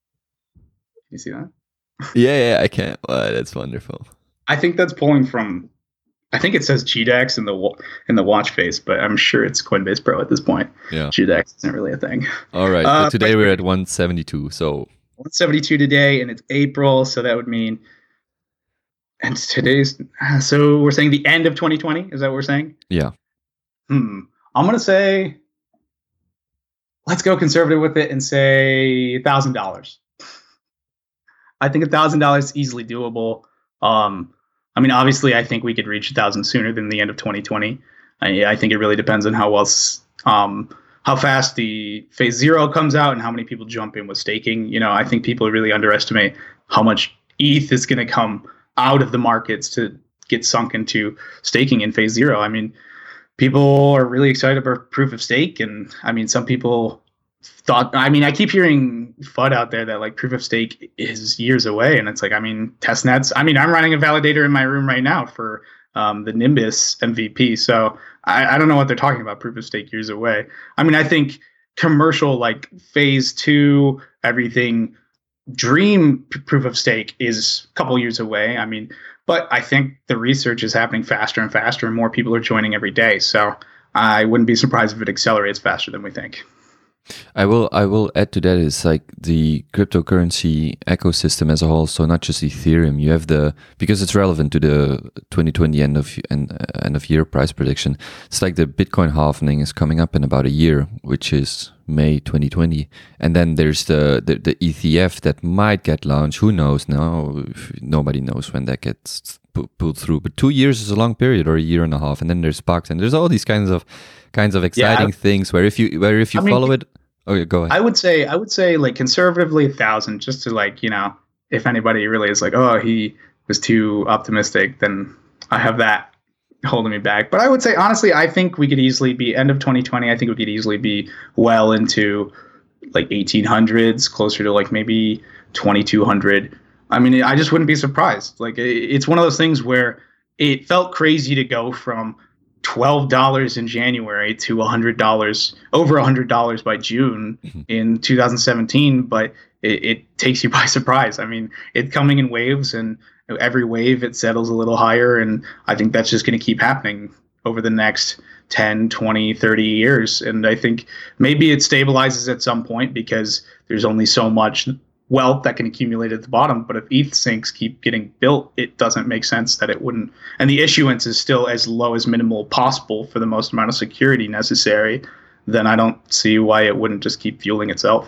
you see that? Yeah, yeah, I can. Wow, that's wonderful. I think that's pulling from. I think it says G DAX in the in the watch face, but I'm sure it's Coinbase Pro at this point. Yeah, G DAX isn't really a thing. All right, uh, so today we're at one seventy-two. So one seventy-two today, and it's April, so that would mean. And today's so we're saying the end of twenty twenty. Is that what we're saying? Yeah. Hmm. I'm gonna say. Let's go conservative with it and say a thousand dollars. I think a thousand dollars is easily doable. Um. I mean, obviously, I think we could reach a thousand sooner than the end of twenty twenty. I, I think it really depends on how well, um, how fast the phase zero comes out and how many people jump in with staking. You know, I think people really underestimate how much E T H is going to come out of the markets to get sunk into staking in phase zero. I mean, people are really excited about proof of stake, and I mean, some people thought. I mean, I keep hearing F U D out there that like proof of stake is years away, and it's like, I mean, testnets. I mean, I'm running a validator in my room right now for um, the Nimbus M V P, so I, I don't know what they're talking about. Proof of stake years away. I mean, I think commercial like phase two, everything, dream p- proof of stake is a couple years away. I mean, but I think the research is happening faster and faster, and more people are joining every day. So I wouldn't be surprised if it accelerates faster than we think. I will I will add to that is like the cryptocurrency ecosystem as a whole, so not just Ethereum. You have the, because it's relevant to the twenty twenty end of end, end of year price prediction. It's like the Bitcoin halving is coming up in about a year, which is May twenty twenty, and then there's the the, the E T F that might get launched. Who knows now? Nobody knows when that gets pulled through. But two years is a long period, or a year and a half, and then there's Sparks, and there's all these kinds of kinds of exciting yeah, things where if you where if you I follow mean, it. Oh, yeah, go ahead. I would say I would say like conservatively a thousand, just to like, you know, if anybody really is like, oh, he was too optimistic, then I have that holding me back. But I would say honestly, I think we could easily be end of twenty twenty. I think we could easily be well into like eighteen hundreds, closer to like maybe twenty-two hundred. I mean, I just wouldn't be surprised. Like it's one of those things where it felt crazy to go from twelve dollars in January to one hundred dollars, over one hundred dollars by June mm-hmm. in two thousand seventeen, but it, it takes you by surprise. I mean, it's coming in waves, and every wave it settles a little higher, and I think that's just going to keep happening over the next ten, twenty, thirty years. And I think maybe it stabilizes at some point because there's only so much wealth that can accumulate at the bottom. But if E T H sinks keep getting built, it doesn't make sense that it wouldn't. And the issuance is still as low as minimal possible for the most amount of security necessary. Then I don't see why it wouldn't just keep fueling itself.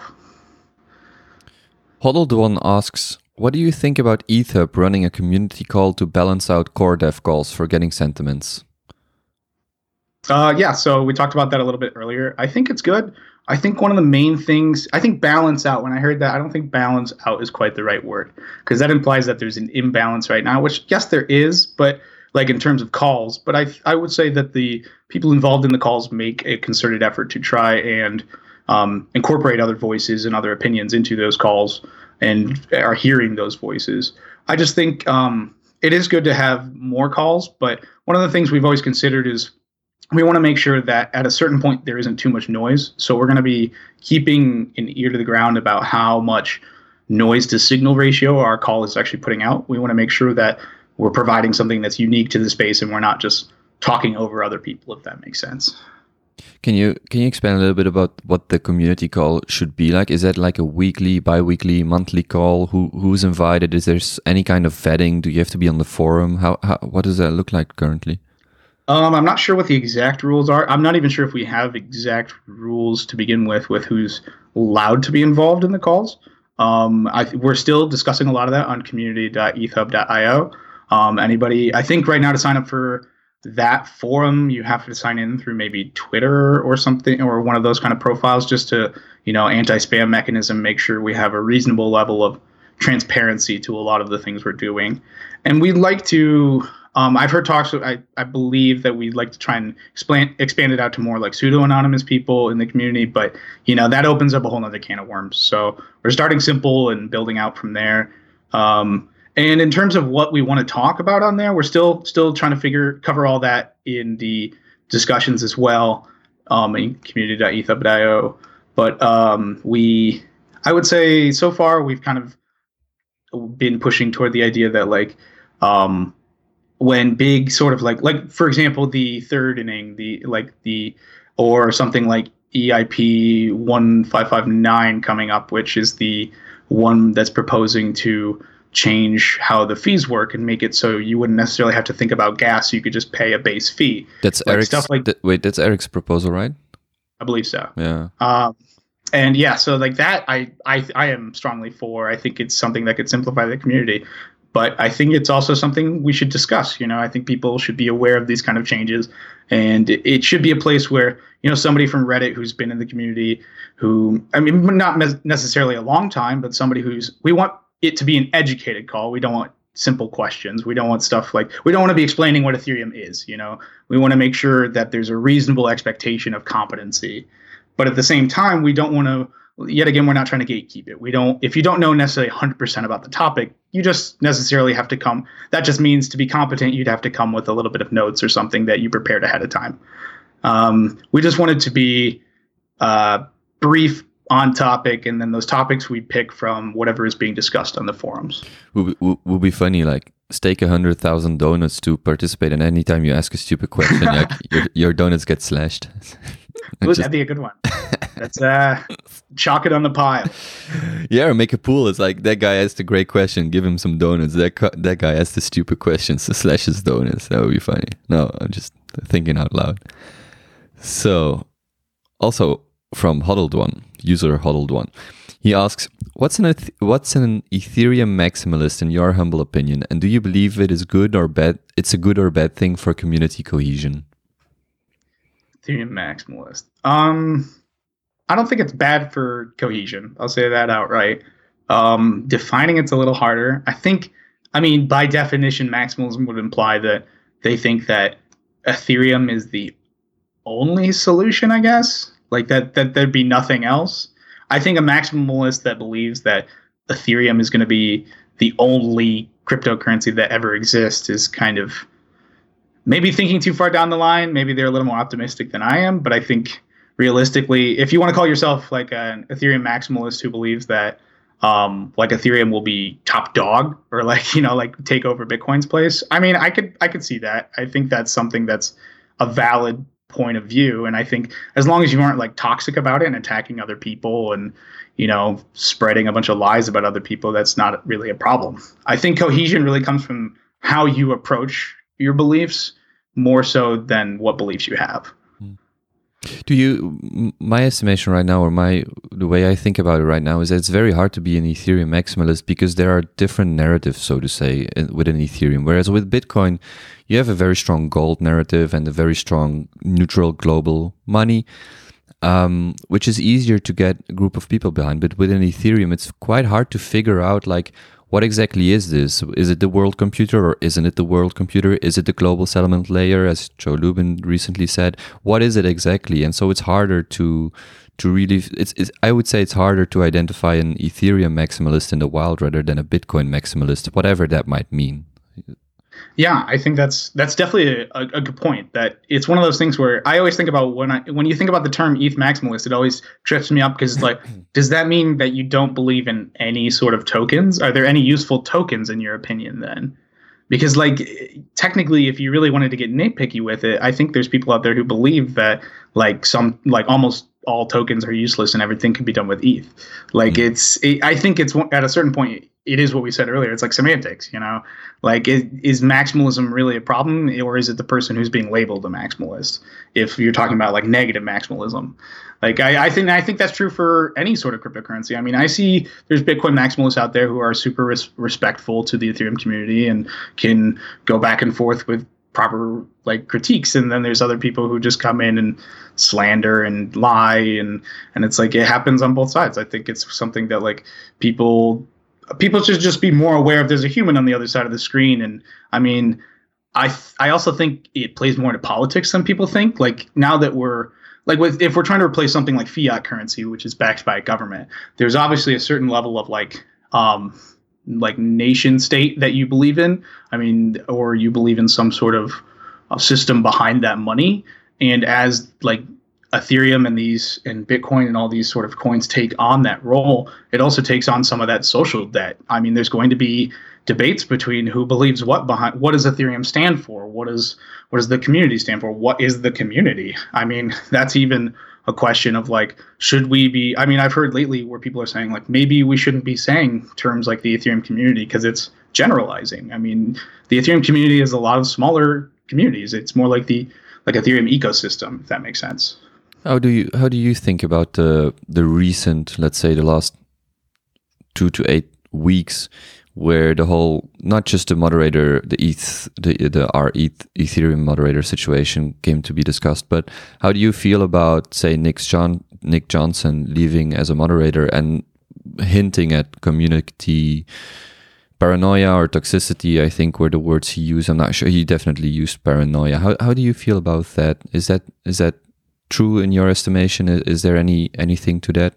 Hodled One asks, what do you think about ETHUB running a community call to balance out core dev calls for getting sentiments? Uh, yeah, so we talked about that a little bit earlier. I think it's good. I think one of the main things, I think balance out, when I heard that, I don't think balance out is quite the right word, because that implies that there's an imbalance right now, which yes, there is, but like in terms of calls, but I I would say that the people involved in the calls make a concerted effort to try and um, incorporate other voices and other opinions into those calls and are hearing those voices. I just think um, it is good to have more calls, but one of the things we've always considered is we want to make sure that at a certain point there isn't too much noise. So we're going to be keeping an ear to the ground about how much noise to signal ratio our call is actually putting out. We want to make sure that we're providing something that's unique to the space and we're not just talking over other people, if that makes sense. Can you can you expand a little bit about what the community call should be like? Is that like a weekly, bi-weekly, monthly call? Who who's invited? Is there any kind of vetting? Do you have to be on the forum? How, how what does that look like currently? Um, I'm not sure what the exact rules are. I'm not even sure if we have exact rules to begin with, with who's allowed to be involved in the calls. Um, I th- we're still discussing a lot of that on community dot e t h hub dot i o. Um, anybody, I think right now to sign up for that forum, you have to sign in through maybe Twitter or something, or one of those kind of profiles, just to, you know, anti-spam mechanism, make sure we have a reasonable level of transparency to a lot of the things we're doing. And we'd like to, Um, I've heard talks. I, I believe that we'd like to try and expand expand it out to more like pseudo anonymous people in the community, but you know that opens up a whole other can of worms. So we're starting simple and building out from there. Um, and in terms of what we want to talk about on there, we're still still trying to figure cover all that in the discussions as well, um, in community dot eth hub dot i o. But um, we, I would say, so far we've kind of been pushing toward the idea that like um, when big sort of like like for example the third inning, the like the or something like E I P one five five nine coming up, which is the one that's proposing to change how the fees work and make it so you wouldn't necessarily have to think about gas. You could just pay a base fee. That's like Eric's stuff like th- wait, that's Eric's proposal, right? I believe so. Yeah. Um, and yeah, so like that, I, I I am strongly for. I think it's something that could simplify the community, but I think it's also something we should discuss. You know, I think people should be aware of these kind of changes, and it, it should be a place where you know somebody from Reddit who's been in the community, who I mean, not mes- necessarily a long time, but somebody who's we want it to be an educated call. We don't want simple questions. We don't want stuff like we don't want to be explaining what Ethereum is. You know, we want to make sure that there's a reasonable expectation of competency, but at the same time, we don't want to. Yet again, we're not trying to gatekeep it. We don't. If you don't know necessarily one hundred percent about the topic, you just necessarily have to come. That just means to be competent, you'd have to come with a little bit of notes or something that you prepared ahead of time. Um, we just wanted to be uh, brief, on topic, and then those topics we pick from whatever is being discussed on the forums. Would be, would be funny, like stake a hundred thousand donuts to participate, and anytime you ask a stupid question, like your, your donuts get slashed. Ooh, just, that'd be a good one. That's uh, chalk it on the pile. Yeah, or make a pool. It's like that guy asked a great question, give him some donuts. That cu- that guy asked the stupid questions, so slash his donuts. That would be funny. No, I'm just thinking out loud. So, also from Huddled One, user Huddled One, he asks, "What's an eth- what's an Ethereum maximalist in your humble opinion, and do you believe it is good or bad? It's a good or bad thing for community cohesion?" Ethereum maximalist. Um, I don't think it's bad for cohesion. I'll say that outright. Um, defining it's a little harder. I think. I mean, by definition, maximalism would imply that they think that Ethereum is the only solution, I guess. Like that, that there'd be nothing else. I think a maximalist that believes that Ethereum is going to be the only cryptocurrency that ever exists is kind of maybe thinking too far down the line. Maybe they're a little more optimistic than I am. But I think realistically, if you want to call yourself like an Ethereum maximalist who believes that um, like Ethereum will be top dog or like, you know, like take over Bitcoin's place, I mean, I could I could see that. I think that's something that's a valid point of view, and I think as long as you aren't like toxic about it and attacking other people and you know spreading a bunch of lies about other people, that's not really a problem. I think cohesion really comes from how you approach your beliefs more so than what beliefs you have. Do you, my estimation right now, or my the way I think about it right now, is that it's very hard to be an Ethereum maximalist because there are different narratives, so to say, within Ethereum. Whereas with Bitcoin, you have a very strong gold narrative and a very strong neutral global money, um, which is easier to get a group of people behind. But within Ethereum, it's quite hard to figure out, like, what exactly is this? Is it the world computer or isn't it the world computer? Is it the global settlement layer, as Joe Lubin recently said? What is it exactly? And so it's harder to to really, it's, it's I would say it's harder to identify an Ethereum maximalist in the wild rather than a Bitcoin maximalist, whatever that might mean. Yeah, I think that's that's definitely a, a good point. That it's one of those things where I always think about when I when you think about the term E T H maximalist, it always trips me up because it's like, does that mean that you don't believe in any sort of tokens? Are there any useful tokens in your opinion then? Because like technically, if you really wanted to get nitpicky with it, I think there's people out there who believe that like some like almost all tokens are useless and everything can be done with E T H. Like mm. it's it, I think it's at a certain point. It is what we said earlier. It's like semantics, you know, like is, is maximalism really a problem, or is it the person who's being labeled a maximalist? If you're talking about like negative maximalism, like I, I think I think that's true for any sort of cryptocurrency. I mean, I see there's Bitcoin maximalists out there who are super res- respectful to the Ethereum community and can go back and forth with proper like critiques, and then there's other people who just come in and slander and lie, and and it's like it happens on both sides. I think it's something that like people. People should just be more aware if there's a human on the other side of the screen. And I mean, I th- I also think it plays more into politics than people think. Like now that we're like with, if we're trying to replace something like fiat currency, which is backed by a government, there's obviously a certain level of like um like nation state that you believe in. I mean, or you believe in some sort of uh, system behind that money. And as like Ethereum and these and Bitcoin and all these sort of coins take on that role, it also takes on some of that social debt. I mean, there's going to be debates between who believes what behind what does Ethereum stand for? What is what does the community stand for? What is the community? I mean, that's even a question of like, should we be? I mean, I've heard lately where people are saying like maybe we shouldn't be saying terms like the Ethereum community because it's generalizing. I mean, the Ethereum community is a lot of smaller communities. It's more like the like Ethereum ecosystem, if that makes sense. How do you how do you think about the the recent, let's say, the last two to eight weeks, where the whole, not just the moderator, the E T H, the the our E T H, Ethereum moderator situation came to be discussed, but how do you feel about, say, Nick John Nick Johnson leaving as a moderator and hinting at community paranoia or toxicity? I think were the words he used. I'm not sure. He definitely used paranoia. How how do you feel about that? Is that is that true in your estimation? Is, is there any anything to that?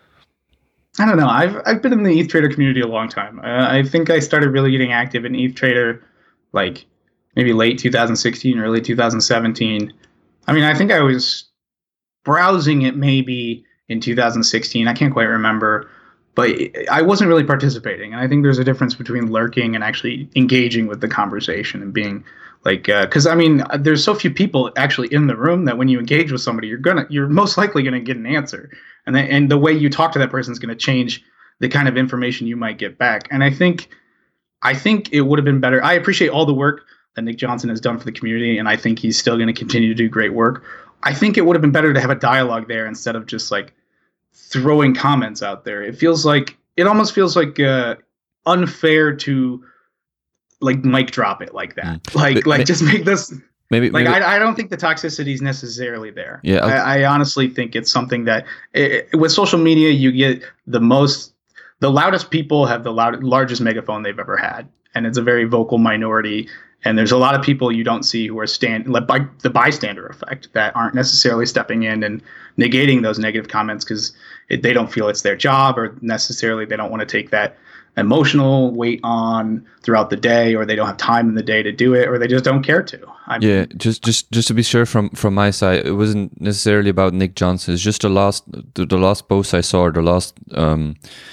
I don't know. I've I've been in the E T H Trader community a long time. Uh, I think I started really getting active in E T H Trader like maybe late two thousand sixteen, early two thousand seventeen. I mean, I think I was browsing it maybe in two thousand sixteen. I can't quite remember, but I wasn't really participating. And I think there's a difference between lurking and actually engaging with the conversation and being like, because uh, I mean, there's so few people actually in the room that when you engage with somebody, you're gonna, you're most likely gonna get an answer, and then, and the way you talk to that person is gonna change the kind of information you might get back. And I think, I think it would have been better. I appreciate all the work that Nick Johnson has done for the community, and I think he's still going to continue to do great work. I think it would have been better to have a dialogue there instead of just like throwing comments out there. It feels like, it almost feels like uh, unfair to like mic drop it like that. Mm. Like, but, like just make this. Maybe like maybe. I, I don't think the toxicity is necessarily there. Yeah, I, I honestly think it's something that it, with social media you get the most, the loudest people have the loud, largest megaphone they've ever had, and it's a very vocal minority. And there's a lot of people you don't see who are stand like by the bystander effect that aren't necessarily stepping in and negating those negative comments because they don't feel it's their job, or necessarily they don't want to take that emotional weight on throughout the day, or they don't have time in the day to do it, or they just don't care to. I mean, yeah, just just just to be sure from from my side, it wasn't necessarily about Nick Johnson. It's just the last the, the last post I saw, the last um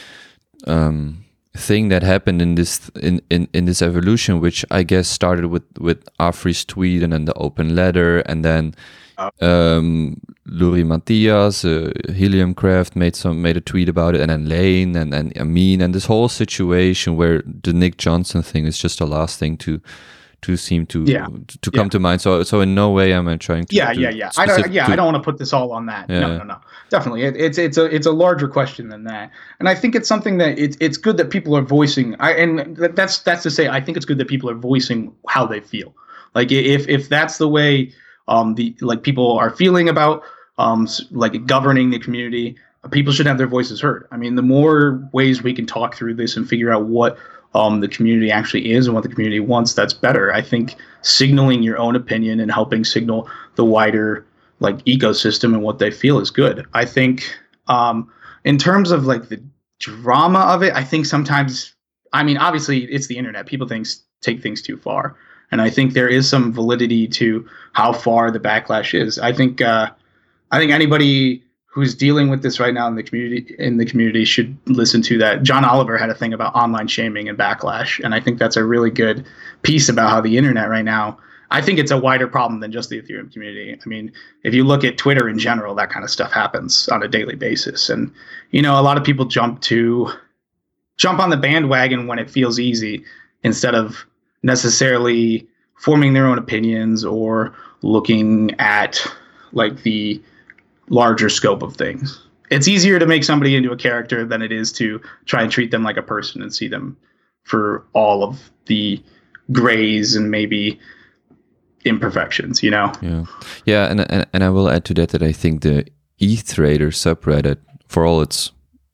um thing that happened in this in, in, in this evolution, which I guess started with with Afri's tweet and then the open letter, and then um Luri Matthias, uh, Heliumcraft made some made a tweet about it, and then Lane and and Amin, and this whole situation where the Nick Johnson thing is just the last thing to to seem to yeah. to come yeah. to mind. So so in no way am I trying to yeah to yeah yeah I don't yeah to, I don't want to put this all on that. Yeah. No no no definitely it, it's it's a it's a larger question than that, and I think it's something that it's it's good that people are voicing. I and that's that's to say I think it's good that people are voicing how they feel. Like if if that's the way um the like people are feeling about um like governing the community, people should have their voices heard. I mean, the more ways we can talk through this and figure out what um the community actually is and what the community wants, that's better. I think signaling your own opinion and helping signal the wider like ecosystem and what they feel is good. I think um in terms of like the drama of it, I think sometimes, I mean, obviously it's the internet, people things take things too far, and I think there is some validity to how far the backlash is. I think uh I think anybody who's dealing with this right now in the community in the community should listen to that. John Oliver had a thing about online shaming and backlash, and I think that's a really good piece about how the internet right now, I think it's a wider problem than just the Ethereum community. I mean, if you look at Twitter in general, that kind of stuff happens on a daily basis, and you know, a lot of people jump to jump on the bandwagon when it feels easy instead of necessarily forming their own opinions or looking at like the larger scope of things. It's easier to make somebody into a character than it is to try and treat them like a person and see them for all of the grays and maybe imperfections, you know? Yeah, yeah, and and, and I will add to that that I think the E T H Trader subreddit, for all its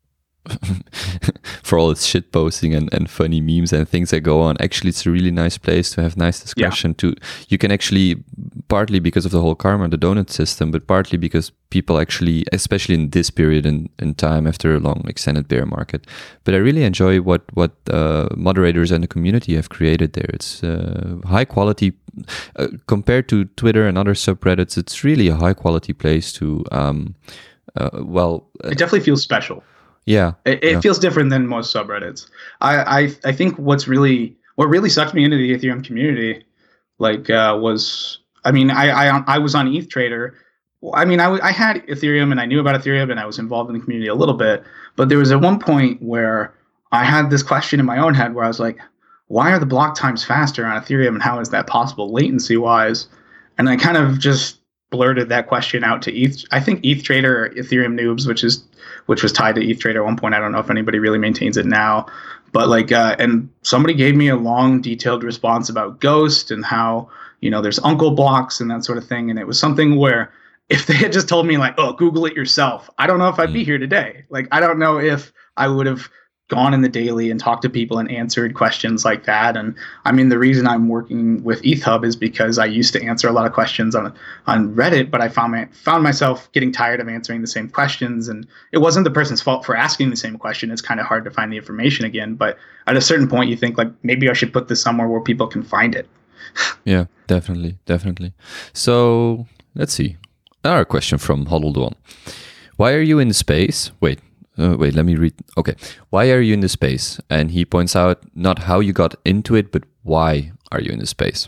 for all its shit posting and, and funny memes and things that go on. Actually, it's a really nice place to have nice discussion. Yeah. To you can actually, partly because of the whole karma, the donut system, but partly because people actually, especially in this period in, in time after a long extended bear market. But I really enjoy what what uh, moderators and the community have created there. It's uh, high quality uh, compared to Twitter and other subreddits. It's really a high quality place to. Um, uh, well, uh, it definitely feels special. Yeah, it, it yeah. feels different than most subreddits. I, I I think what's really what really sucked me into the Ethereum community, like, uh, was I mean I I I was on E T H Trader. I mean I, w- I had Ethereum and I knew about Ethereum and I was involved in the community a little bit, but there was at one point where I had this question in my own head where I was like, why are the block times faster on Ethereum and how is that possible latency wise? And I kind of just blurted that question out to E T H. I think E T H Trader or Ethereum Noobs, which is which was tied to E T H Trader at one point. I don't know if anybody really maintains it now, but like, uh, and somebody gave me a long, detailed response about Ghost and how, you know, there's uncle blocks and that sort of thing. And it was something where if they had just told me like, oh, Google it yourself, I don't know if I'd be here today. Like, I don't know if I would have gone in the daily and talked to people and answered questions like that. And I mean, the reason I'm working with E T H Hub is because I used to answer a lot of questions on on Reddit, but I found my, found myself getting tired of answering the same questions. And it wasn't the person's fault for asking the same question. It's kind of hard to find the information again. But at a certain point, you think like, maybe I should put this somewhere where people can find it. Yeah, definitely, definitely. So let's see. Another question from Huddled One. Why are you in space? Wait. Uh, wait, let me read. Okay. Why are you in the space? And he points out not how you got into it, but why are you in the space?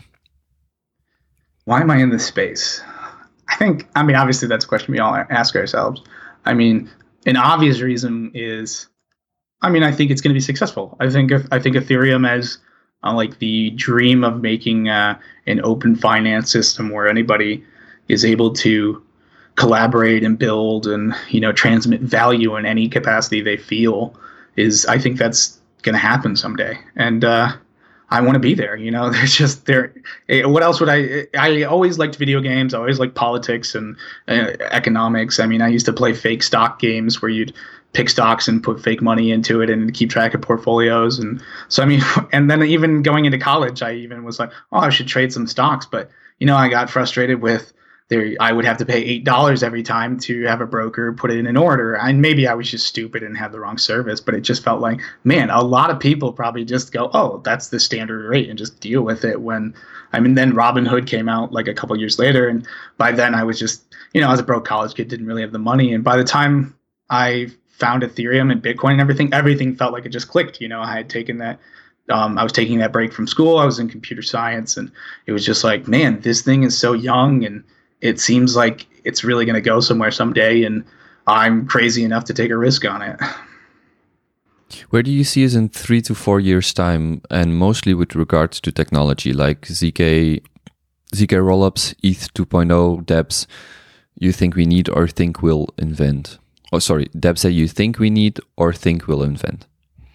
Why am I in this space? I think, I mean, obviously that's a question we all ask ourselves. I mean, an obvious reason is, I mean, I think it's going to be successful. I think, I think Ethereum has uh, like the dream of making uh, an open finance system where anybody is able to collaborate and build and, you know, transmit value in any capacity they feel is, I think that's going to happen someday. And uh, I want to be there. You know, there's just there. What else would I, I always liked video games. I always liked politics and uh, economics. I mean, I used to play fake stock games where you'd pick stocks and put fake money into it and keep track of portfolios. And so, I mean, and then even going into college, I even was like, oh, I should trade some stocks. But, you know, I got frustrated with, There, I would have to pay eight dollars every time to have a broker put it in an order. And maybe I was just stupid and had the wrong service, but it just felt like, man, a lot of people probably just go, oh, that's the standard rate and just deal with it. When, I mean, then Robinhood came out like a couple years later. And by then I was just, you know, I was a broke college kid, didn't really have the money. And by the time I found Ethereum and Bitcoin and everything, everything felt like it just clicked. You know, I had taken that. Um, I was taking that break from school. I was in computer science and it was just like, man, this thing is so young and it seems like it's really going to go somewhere someday, and I'm crazy enough to take a risk on it. Where do you see us in three to four years' time, and mostly with regards to technology, like Z K, Z K rollups, E T H two point oh, dApps you think we need or think we'll invent? Oh, sorry, dApps that you think we need or think we'll invent?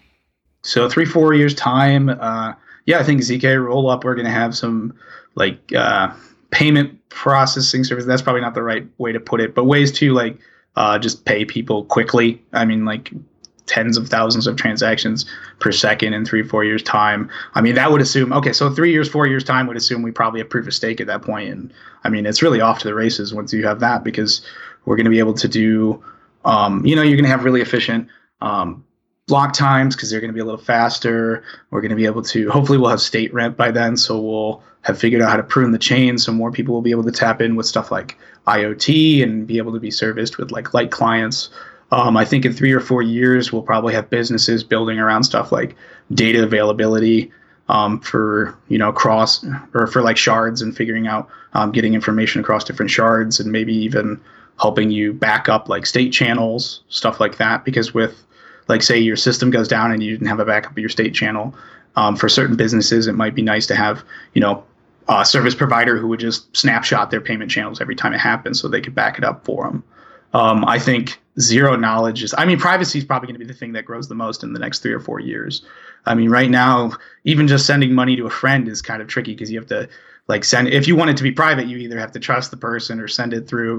So three, four years' time, uh, yeah, I think Z K rollup, we're going to have some, like, uh, payment processing service. That's probably not the right way to put it, but ways to like uh, just pay people quickly. I mean, like tens of thousands of transactions per second in three, four years time. I mean, that would assume, okay, so three years, four years time would assume we probably have proof of stake at that point. And I mean, it's really off to the races once you have that, because we're going to be able to do, um, you know, you're going to have really efficient um, block times because they're going to be a little faster. We're going to be able to, hopefully we'll have state rent by then. So we'll have figured out how to prune the chain. So more people will be able to tap in with stuff like IoT and be able to be serviced with like light clients. Um, I think in three or four years, we'll probably have businesses building around stuff like data availability um, for, you know, cross or for like shards and figuring out um, getting information across different shards and maybe even helping you back up like state channels, stuff like that. Because with like, say your system goes down and you didn't have a backup of your state channel. Um, for certain businesses, it might be nice to have, you know, a service provider who would just snapshot their payment channels every time it happens so they could back it up for them. Um, I think zero knowledge is, I mean, privacy is probably going to be the thing that grows the most in the next three or four years. I mean, right now, even just sending money to a friend is kind of tricky because you have to like send, if you want it to be private, you either have to trust the person or send it through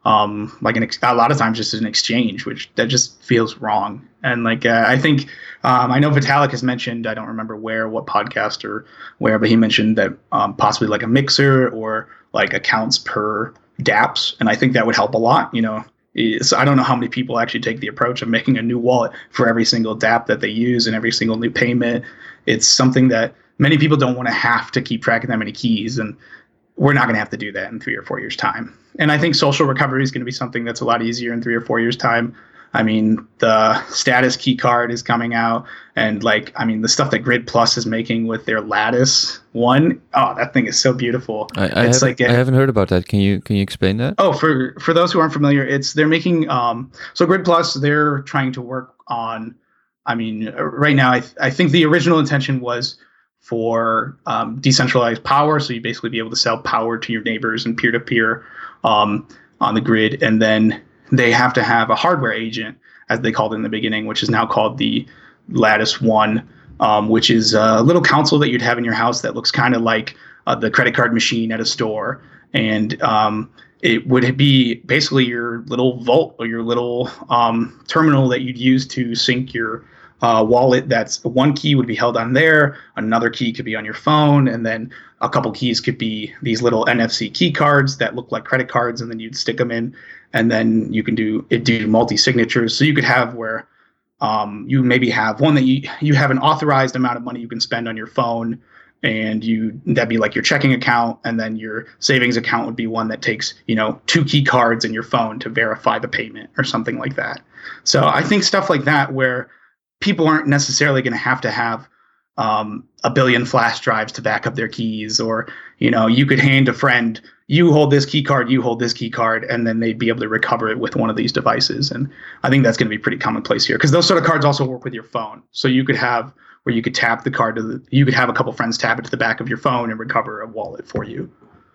um, like an ex- a lot of times just an exchange, which that just feels wrong. And like uh, I think um, I know Vitalik has mentioned, I don't remember where, what podcast or where, but he mentioned that um, possibly like a mixer or like accounts per dApps, and I think that would help a lot. You know, so I don't know how many people actually take the approach of making a new wallet for every single dApp that they use and every single new payment. It's something that many people don't want to have to keep track of that many keys, and we're not going to have to do that in three or four years' time. And I think social recovery is going to be something that's a lot easier in three or four years' time. I mean, the status key card is coming out, and like, I mean, the stuff that Grid Plus is making with their Lattice one, oh, that thing is so beautiful. I, I, it's haven't, like a, I haven't heard about that. Can you can you explain that? Oh, for for those who aren't familiar, it's they're making um so Grid Plus, they're trying to work on. I mean, right now, I th- I think the original intention was for um, decentralized power, so you basically be able to sell power to your neighbors and peer to peer um on the grid, and then they have to have a hardware agent, as they called it in the beginning, which is now called the Lattice One, um, which is a little console that you'd have in your house that looks kind of like uh, the credit card machine at a store. And um, it would be basically your little vault or your little um, terminal that you'd use to sync your uh, wallet. That's one key would be held on there. Another key could be on your phone. And then a couple keys could be these little N F C key cards that look like credit cards. And then you'd stick them in. And then you can do it do multi-signatures. So you could have where um, you maybe have one that you you have an authorized amount of money you can spend on your phone, and you that'd be like your checking account, and then your savings account would be one that takes, you know, two key cards in your phone to verify the payment or something like that. So I think stuff like that where people aren't necessarily going to have to have um, a billion flash drives to back up their keys, or, you know, you could hand a friend, you hold this key card, you hold this key card, and then they'd be able to recover it with one of these devices. And I think that's going to be pretty commonplace here, because those sort of cards also work with your phone. So you could have where you could tap the card to the, you could have a couple friends tap it to the back of your phone and recover a wallet for you.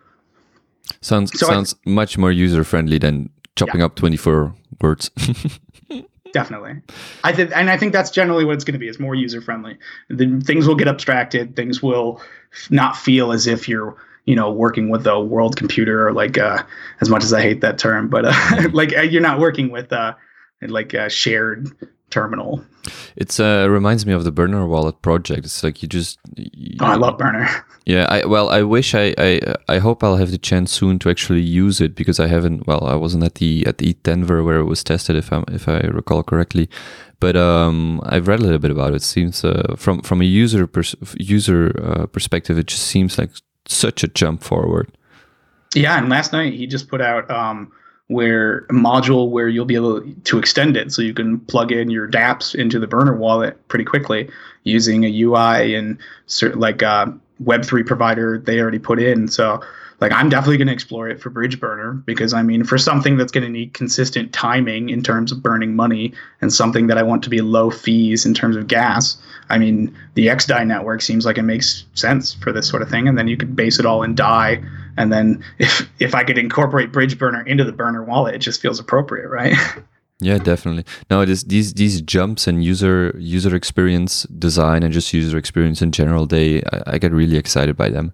Sounds so sounds I, much more user friendly than chopping yeah. up twenty-four words. Definitely. I think, and I think that's generally what it's going to be. It's more user friendly. The things will get abstracted. Things will f- not feel as if you're, you know, working with a world computer, or like, uh, as much as I hate that term, but uh, like uh, you're not working with uh, like a shared terminal. It's uh reminds me of the Burner Wallet project. It's like you just. You, oh, I love Burner. Yeah, I well, I wish I, I I hope I'll have the chance soon to actually use it, because I haven't. Well, I wasn't at the at the E T H Denver where it was tested, if I if I recall correctly, but um, I've read a little bit about it. It seems uh, from from a user pers- user uh, perspective, it just seems like such a jump forward. Yeah, and last night he just put out um where a module where you'll be able to extend it, so you can plug in your dApps into the Burner wallet pretty quickly using a U I and certain like uh, Web three provider they already put in. So like I'm definitely going to explore it for Bridge Burner, because I mean, for something that's going to need consistent timing in terms of burning money, and something that I want to be low fees in terms of gas, I mean, the X D A I network seems like it makes sense for this sort of thing. And then you could base it all in D A I. And then if if I could incorporate Bridge Burner into the Burner wallet, it just feels appropriate, right? Yeah, definitely. No, this, these these jumps in user user experience design and just user experience in general, they I, I get really excited by them.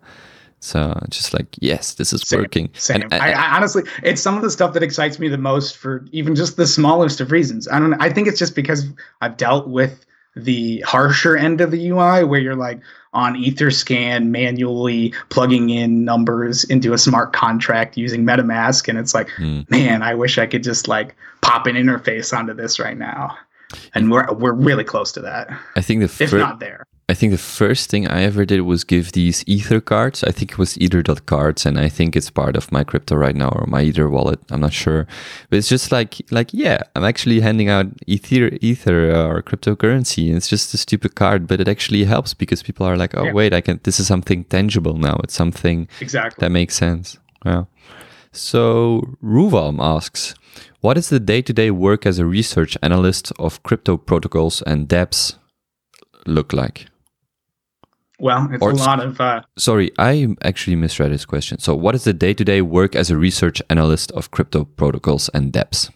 So just like, yes, this is same, working. Same. And, I, I honestly, it's some of the stuff that excites me the most for even just the smallest of reasons. I don't know. I think it's just because I've dealt with the harsher end of the U I, where you're like on Etherscan manually plugging in numbers into a smart contract using MetaMask. And it's like, mm. man, I wish I could just like pop an interface onto this right now. And we're we're really close to that. I think the fir- if not there. I think the first thing I ever did was give these Ether cards. I think it was Ether.cards, and I think it's part of my crypto right now, or my Ether wallet. I'm not sure, but it's just like like yeah, I'm actually handing out Ether Ether uh, or cryptocurrency. And it's just a stupid card, but it actually helps, because people are like, oh yeah. wait, I can. This is something tangible now. It's something exactly that makes sense. Yeah. So Ruvalm asks, what is the day-to-day work as a research analyst of crypto protocols and dApps look like? Well, it's or, a lot of... Uh, sorry, I actually misread his question. So what is the day-to-day work as a research analyst of crypto protocols and dApps?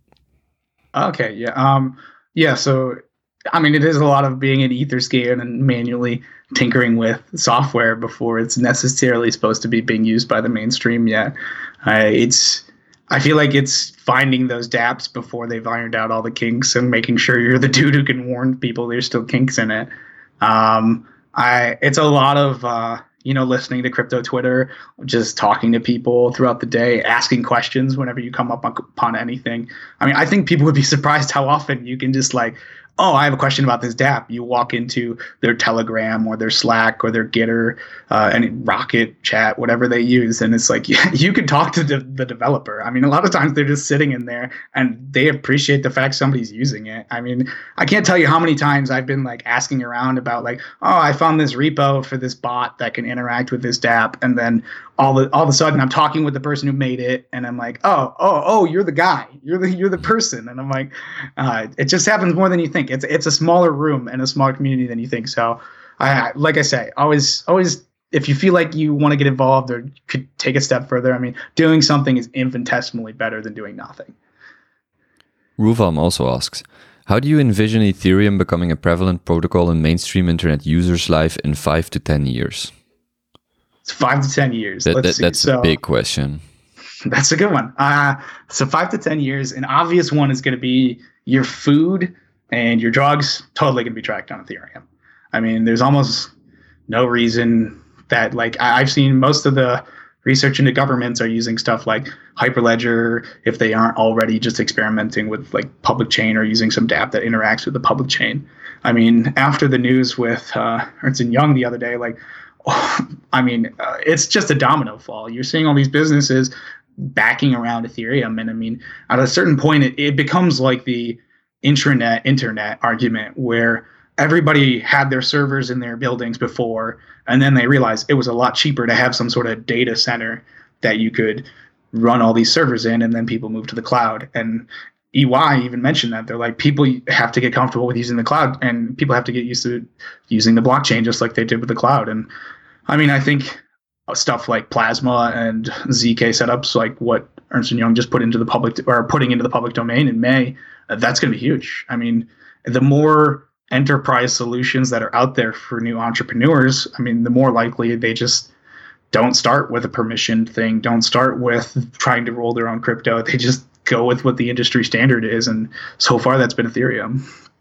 Okay, yeah. Um, yeah, so, I mean, it is a lot of being in Etherscan and manually tinkering with software before it's necessarily supposed to be being used by the mainstream yet. Uh, it's... I feel like it's finding those dApps before they've ironed out all the kinks and making sure you're the dude who can warn people there's still kinks in it. Um, I it's a lot of uh, you know, listening to crypto Twitter, just talking to people throughout the day, asking questions whenever you come up upon anything. I mean, I think people would be surprised how often you can just like, oh, I have a question about this dApp. You walk into their Telegram or their Slack or their Gitter, uh, and Rocket Chat, whatever they use. And it's like, yeah, you can talk to the, the developer. I mean, a lot of times they're just sitting in there and they appreciate the fact somebody's using it. I mean, I can't tell you how many times I've been like asking around about like, oh, I found this repo for this bot that can interact with this dApp. And then all the, all of a sudden I'm talking with the person who made it. And I'm like, oh, oh, oh, you're the guy. You're the, you're the person. And I'm like, uh, it just happens more than you think. It's it's a smaller room and a smaller community than you think. So, I like I say, always always if you feel like you want to get involved or could take a step further, I mean, doing something is infinitesimally better than doing nothing. Ruvam also asks, how do you envision Ethereum becoming a prevalent protocol in mainstream internet users' life in five to ten years? It's five to ten years. That, Let's that, see. that's so, a big question. That's a good one. Uh, so five to ten years, an obvious one is going to be your food and your drugs totally going to be tracked on Ethereum. I mean, there's almost no reason that, like, I've seen most of the research into governments are using stuff like Hyperledger if they aren't already just experimenting with like public chain or using some dApp that interacts with the public chain. I mean, after the news with uh, Ernst and Young the other day, like, oh, I mean, uh, it's just a domino fall. You're seeing all these businesses backing around Ethereum. And I mean, at a certain point, it, it becomes like the intranet internet argument where everybody had their servers in their buildings before, and then they realized it was a lot cheaper to have some sort of data center that you could run all these servers in, and then people moved to the cloud. And E Y even mentioned that. They're like, people have to get comfortable with using the cloud, and people have to get used to using the blockchain just like they did with the cloud. And I mean, I think stuff like Plasma and Z K setups, like what Ernst and Young just put into the public or putting into the public domain in May, that's going to be huge. I mean, the more enterprise solutions that are out there for new entrepreneurs, I mean, the more likely they just don't start with a permissioned thing, don't start with trying to roll their own crypto. They just go with what the industry standard is. And so far, that's been Ethereum.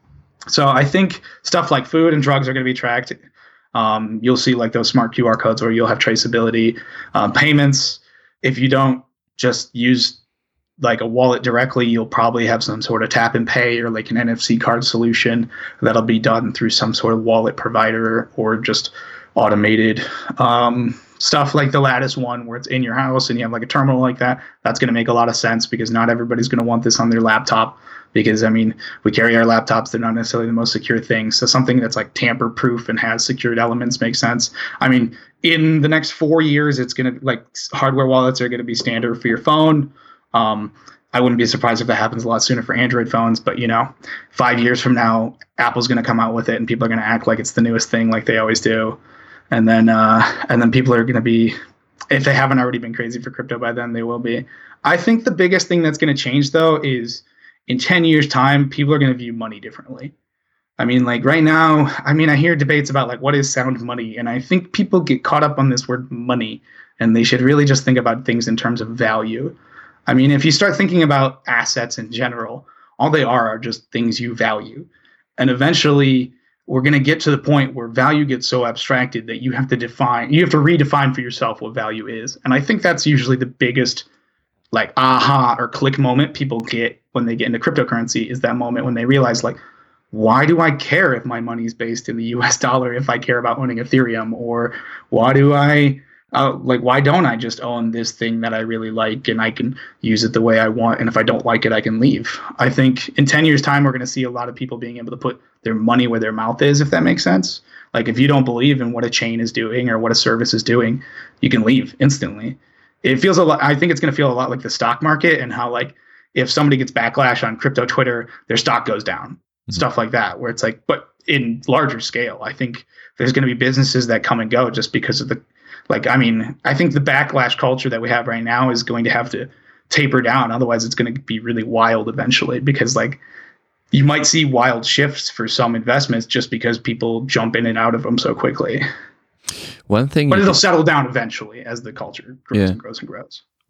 So I think stuff like food and drugs are going to be tracked. Um, you'll see like those smart Q R codes where you'll have traceability. Um, payments, if you don't just use like a wallet directly, you'll probably have some sort of tap and pay or like an N F C card solution that'll be done through some sort of wallet provider or just automated. Um, stuff like the Lattice one where it's in your house and you have like a terminal like that, that's going to make a lot of sense because not everybody's going to want this on their laptop because, I mean, we carry our laptops. They're not necessarily the most secure thing. So something that's like tamper proof and has secured elements makes sense. I mean, in the next four years, it's going to like hardware wallets are going to be standard for your phone. Um, I wouldn't be surprised if that happens a lot sooner for Android phones, but you know, five years from now, Apple's going to come out with it and people are going to act like it's the newest thing like they always do. And then, uh, and then people are going to be, if they haven't already been crazy for crypto by then, they will be. I think the biggest thing that's going to change though is in ten years time, people are going to view money differently. I mean, like right now, I mean, I hear debates about like, what is sound money? And I think people get caught up on this word money and they should really just think about things in terms of value. I mean, if you start thinking about assets in general, all they are are just things you value. And eventually we're going to get to the point where value gets so abstracted that you have to define, you have to redefine for yourself what value is. And I think that's usually the biggest like aha or click moment people get when they get into cryptocurrency is that moment when they realize like, why do I care if my money is based in the U S dollar if I care about owning Ethereum? Or why do I Uh, like, why don't I just own this thing that I really like and I can use it the way I want? And if I don't like it, I can leave. I think in ten years time, we're going to see a lot of people being able to put their money where their mouth is, if that makes sense. Like if you don't believe in what a chain is doing or what a service is doing, you can leave instantly. It feels a lot. I think it's going to feel a lot like the stock market and how like if somebody gets backlash on crypto Twitter, their stock goes down, mm-hmm. stuff like that, where it's like, but in larger scale, I think there's going to be businesses that come and go just because of the Like, I mean, I think the backlash culture that we have right now is going to have to taper down. Otherwise, it's going to be really wild eventually because, like, you might see wild shifts for some investments just because people jump in and out of them so quickly. One thing, but it'll settle down eventually as the culture grows yeah. and grows and grows.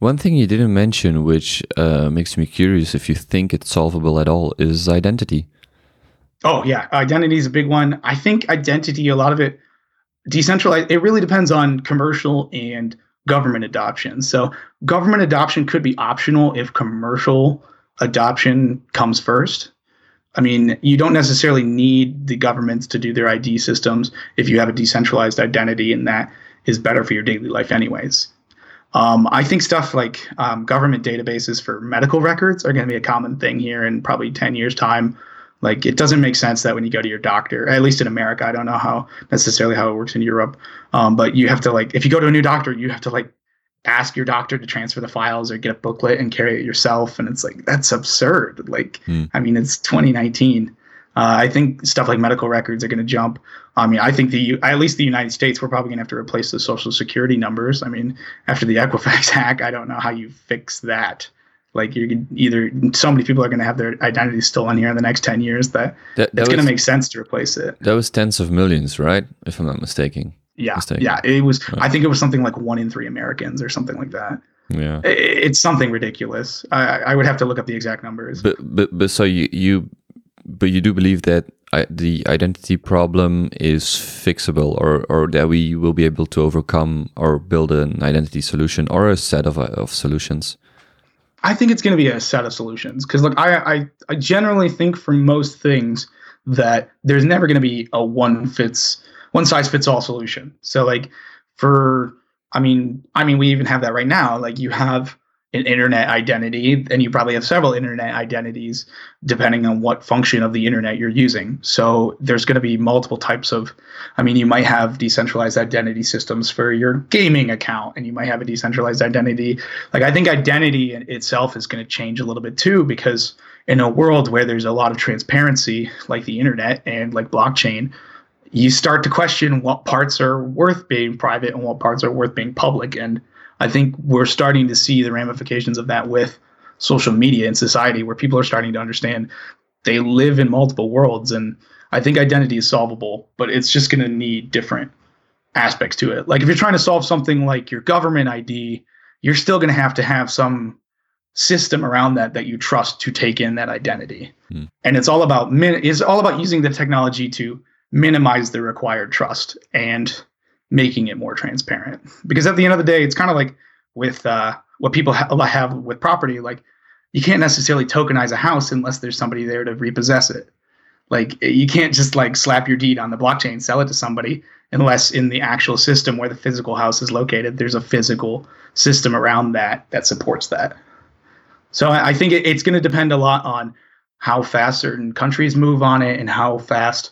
One thing you didn't mention, which uh, makes me curious if you think it's solvable at all, is identity. Oh, yeah. Identity is a big one. I think identity, a lot of it, decentralized, it really depends on commercial and government adoption. So government adoption could be optional if commercial adoption comes first. I mean, you don't necessarily need the governments to do their I D systems if you have a decentralized identity, and that is better for your daily life anyways. Um, I think stuff like um, government databases for medical records are going to be a common thing here in probably ten years' time. Like, it doesn't make sense that when you go to your doctor, at least in America, I don't know how necessarily how it works in Europe, um, but you have to, like, if you go to a new doctor, you have to, like, ask your doctor to transfer the files or get a booklet and carry it yourself. And it's like, that's absurd. Like, mm. I mean, it's twenty nineteen. Uh, I think stuff like medical records are going to jump. I mean, I think the, at least the United States, we're probably going to have to replace the social security numbers. I mean, after the Equifax hack, I don't know how you fix that. Like, you're either, so many people are going to have their identity stolen here in the next ten years that, that, that it's going to make sense to replace it. That was tens of millions, right? If I'm not mistaken. Yeah, mistaken. yeah. It was. Right. I think it was something like one in three Americans or something like that. Yeah, it, it's something ridiculous. I, I would have to look up the exact numbers. But but but so you you, but you do believe that I, the identity problem is fixable, or or that we will be able to overcome or build an identity solution or a set of of solutions. I think it's going to be a set of solutions because look, I, I I generally think for most things that there's never going to be a one fits. one size fits all solution. So like for, I mean, I mean, we even have that right now. Like, you have an internet identity and you probably have several internet identities depending on what function of the internet you're using. So there's going to be multiple types of, I mean, you might have decentralized identity systems for your gaming account, and you might have a decentralized identity. Like, I think identity itself is going to change a little bit too, because in a world where there's a lot of transparency, like the internet and like blockchain, you start to question what parts are worth being private and what parts are worth being public. And I think we're starting to see the ramifications of that with social media in society, where people are starting to understand they live in multiple worlds. And I think identity is solvable, but it's just going to need different aspects to it. Like, if you're trying to solve something like your government I D, you're still going to have to have some system around that that you trust to take in that identity. Mm. And it's all about min- it's all about using the technology to minimize the required trust and making it more transparent. Because at the end of the day, it's kind of like with uh, what people ha- have with property. Like, you can't necessarily tokenize a house unless there's somebody there to repossess it. Like, you can't just like slap your deed on the blockchain, sell it to somebody, unless in the actual system where the physical house is located, there's a physical system around that that supports that. So I, I think it, it's going to depend a lot on how fast certain countries move on it and how fast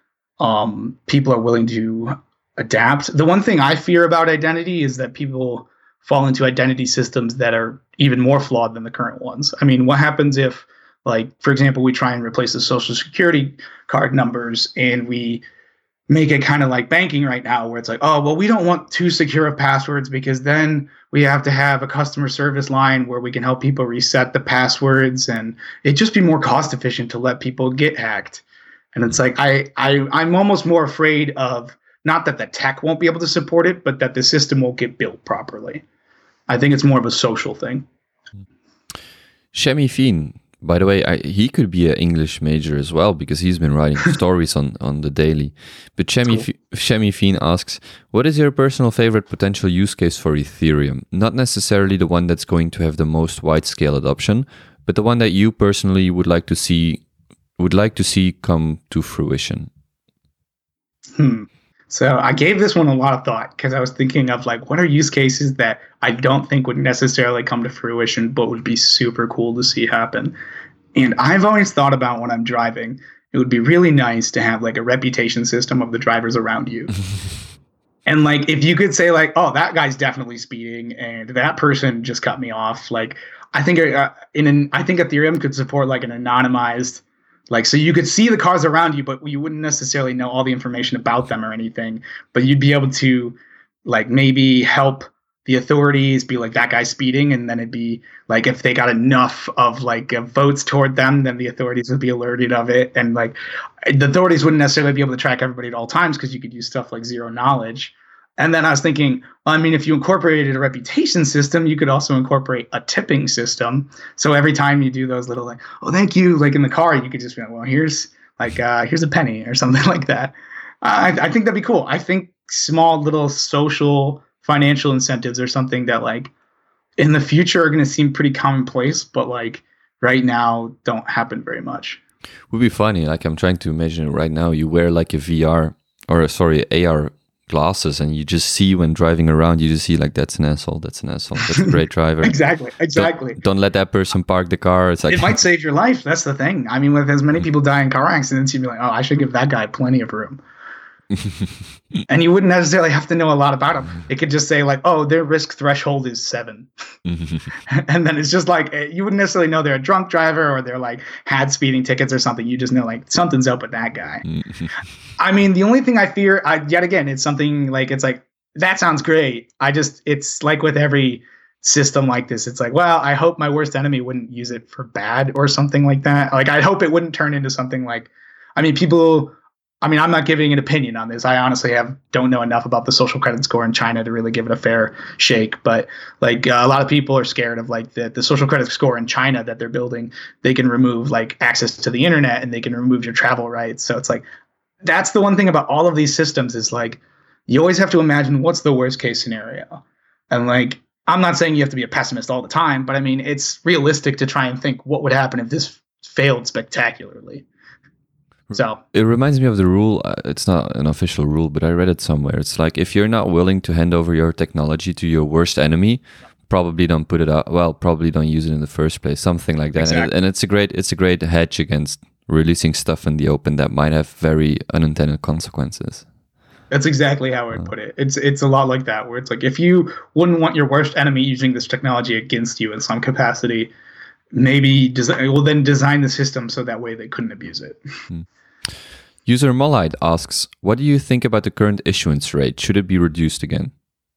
Um, people are willing to adapt. The one thing I fear about identity is that people fall into identity systems that are even more flawed than the current ones. I mean, what happens if, like, for example, we try and replace the social security card numbers and we make it kind of like banking right now, where it's like, oh, well, we don't want too secure of passwords because then we have to have a customer service line where we can help people reset the passwords, and it'd just be more cost efficient to let people get hacked. And it's like, I, I, I'm almost more afraid of not that the tech won't be able to support it, but that the system won't get built properly. I think it's more of a social thing. Shemi Fien, by the way, I, he could be an English major as well, because he's been writing stories on, on the daily. But Shemi, cool. Shemi Fien asks, what is your personal favorite potential use case for Ethereum? Not necessarily the one that's going to have the most wide-scale adoption, but the one that you personally would like to see would like to see come to fruition. Hmm. So I gave this one a lot of thought because I was thinking of like, what are use cases that I don't think would necessarily come to fruition, but would be super cool to see happen. And I've always thought about when I'm driving, it would be really nice to have like a reputation system of the drivers around you. And like, if you could say like, oh, that guy's definitely speeding and that person just cut me off. Like, I think uh, in an, I think Ethereum could support like an anonymized, like, so you could see the cars around you, but you wouldn't necessarily know all the information about them or anything. But you'd be able to, like, maybe help the authorities be like, that guy's speeding. And then it'd be like, if they got enough of like uh, votes toward them, then the authorities would be alerted of it. And like, the authorities wouldn't necessarily be able to track everybody at all times because you could use stuff like zero knowledge. And then I was thinking, well, I mean, if you incorporated a reputation system, you could also incorporate a tipping system. So every time you do those little like, oh, thank you, like in the car, you could just be like, well, here's like, uh, here's a penny or something like that. I, I think that'd be cool. I think small little social financial incentives are something that like in the future are going to seem pretty commonplace, but like right now don't happen very much. Would be funny. Like I'm trying to imagine it right now. You wear like a V R or sorry, A R glasses, and you just see when driving around, you just see like that's an asshole, that's an asshole, that's a great driver. exactly, exactly. Don't, don't let that person park the car. It's like it might save your life. That's the thing. I mean, with as many people die in car accidents, you'd be like, oh, I should give that guy plenty of room. And you wouldn't necessarily have to know a lot about them. It could just say like, oh, their risk threshold is seven. And then it's just like, you wouldn't necessarily know they're a drunk driver or they're like had speeding tickets or something. You just know like something's up with that guy. I mean, the only thing I fear, I, yet again, it's something like, it's like, that sounds great. I just, it's like with every system like this, it's like, well, I hope my worst enemy wouldn't use it for bad or something like that. Like, I hope it wouldn't turn into something like, I mean, people, I mean, I'm not giving an opinion on this. I honestly have don't know enough about the social credit score in China to really give it a fair shake. But like uh, a lot of people are scared of like the, the social credit score in China that they're building. They can remove like access to the internet and they can remove your travel rights. So it's like, that's the one thing about all of these systems is like, you always have to imagine what's the worst case scenario. And like, I'm not saying you have to be a pessimist all the time, but I mean, it's realistic to try and think what would happen if this failed spectacularly. So it reminds me of the rule. Uh, it's not an official rule, but I read it somewhere. It's like if you're not willing to hand over your technology to your worst enemy, probably don't put it out. Well, probably don't use it in the first place. Something like that. Exactly. And, it, and it's a great, it's a great hedge against releasing stuff in the open that might have very unintended consequences. That's exactly how I would put it. It's it's a lot like that, where it's like if you wouldn't want your worst enemy using this technology against you in some capacity, maybe design, well then design the system so that way they couldn't abuse it. Hmm. User Mollide asks, what do you think about the current issuance rate? Should it be reduced again?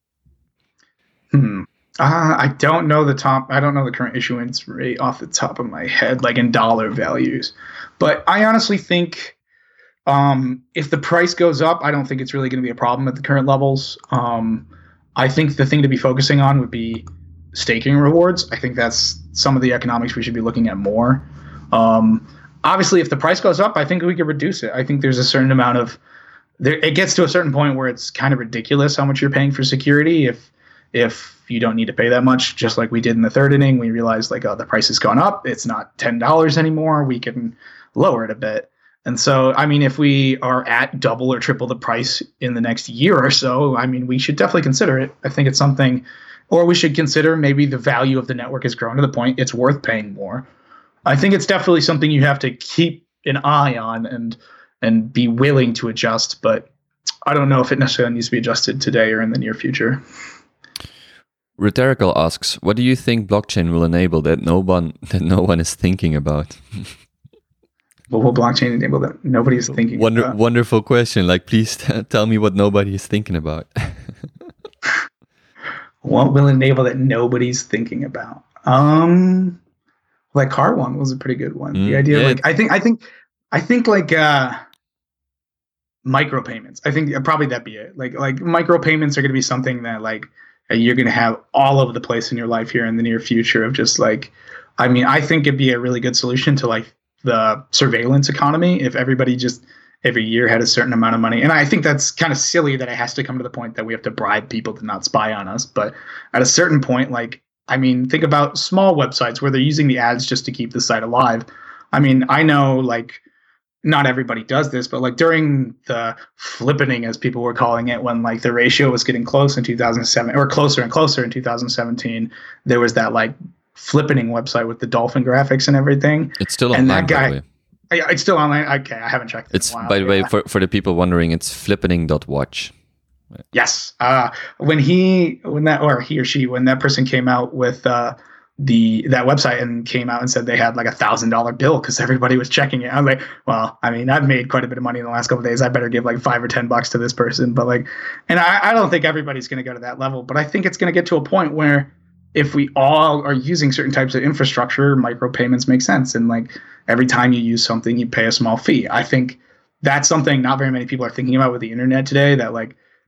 Hmm. Uh, I don't know the top. I don't know the current issuance rate off the top of my head, like in dollar values. But I honestly think um, if the price goes up, I don't think it's really going to be a problem at the current levels. Um, I think the thing to be focusing on would be staking rewards. I think that's some of the economics we should be looking at more. Um, Obviously, if the price goes up, I think we could reduce it. I think there's a certain amount of there. It gets to a certain point where it's kind of ridiculous how much you're paying for security. If if you don't need to pay that much, just like we did in the third inning, we realized like, oh, the price has gone up. It's not ten dollars anymore. We can lower it a bit. And so, I mean, if we are at double or triple the price in the next year or so, I mean, we should definitely consider it. I think it's something, or we should consider maybe the value of the network has grown to the point it's worth paying more. I think it's definitely something you have to keep an eye on and and be willing to adjust, but I don't know if it necessarily needs to be adjusted today or in the near future. Rhetorical asks, what do you think blockchain will enable that no one that no one is thinking about? What will blockchain enable that nobody's thinking Wonder, about? Wonderful question. Like, please t- tell me what nobody is thinking about. What will enable that nobody's thinking about? Um... Like car one was a pretty good one. Mm, the idea, yeah. like I think, I think, I think like uh, micropayments. I think probably that'd be it. Like like micropayments are going to be something that like you're going to have all over the place in your life here in the near future. Of just like, I mean, I think it'd be a really good solution to like the surveillance economy if everybody just every year had a certain amount of money. And I think that's kind of silly that it has to come to the point that we have to bribe people to not spy on us. But at a certain point, like. I mean, think about small websites where they're using the ads just to keep the site alive. I mean, I know like not everybody does this, but like during the flippening, as people were calling it, when like the ratio was getting close in two thousand seven or closer and closer in two thousand seventeen, there was that like flippening website with the dolphin graphics and everything. It's still online, and that guy, by the way. I, it's still online. Okay, I haven't checked it. It's in a while, by the yeah. way, for, for the people wondering, it's flippening dot watch. Yes. Uh, when he, when that, or he or she, when that person came out with uh, the that website and came out and said they had like a thousand dollar bill because everybody was checking it, I was like, well, I mean, I've made quite a bit of money in the last couple of days. I better give like five or ten bucks to this person. But like, and I, I don't think everybody's going to go to that level, but I think it's going to get to a point where if we all are using certain types of infrastructure, micropayments make sense. And like every time you use something, you pay a small fee. I think that's something not very many people are thinking about with the internet today. That like.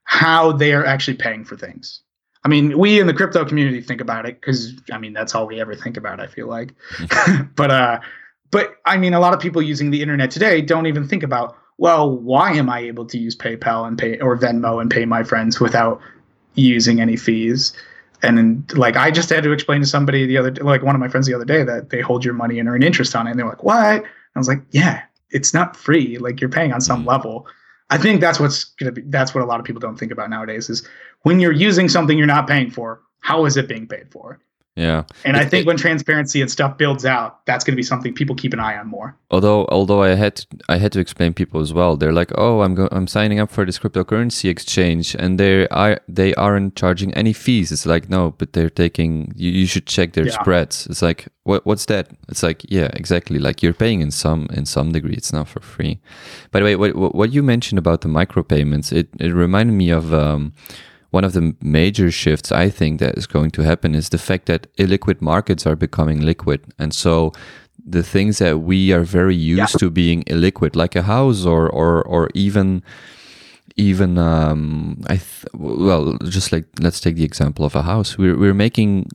how they are actually paying for things. I mean, we in the crypto community think about it because, I mean, that's all we ever think about, I feel like. but, uh, but I mean, a lot of people using the internet today don't even think about, well, why am I able to use PayPal and pay or Venmo and pay my friends without using any fees? And then, like, I just had to explain to somebody the other, like one of my friends the other day, that they hold your money and earn interest on it. And they're like, what? I was like, yeah, it's not free. Like, you're paying on some level. I think that's what's going to be, that's what a lot of people don't think about nowadays is when you're using something you're not paying for, how is it being paid for? Yeah. And it, I think it, when transparency and stuff builds out, that's going to be something people keep an eye on more. Although, although I had to, I had to explain people as well. They're like, "Oh, I'm go- I'm signing up for this cryptocurrency exchange, and they are they aren't charging any fees." It's like, no, but they're taking. You, you should check their yeah. spreads. It's like, what what's that? It's like, yeah, exactly. Like you're paying in some in some degree. It's not for free. By the way, what what you mentioned about the micropayments, it it reminded me of. Um, One of the major shifts I think that is going to happen is the fact that illiquid markets are becoming liquid. And so the things that we are very used yeah. to being illiquid, like a house or or or even even um I th- well, just like let's take the example of a house. We're we're making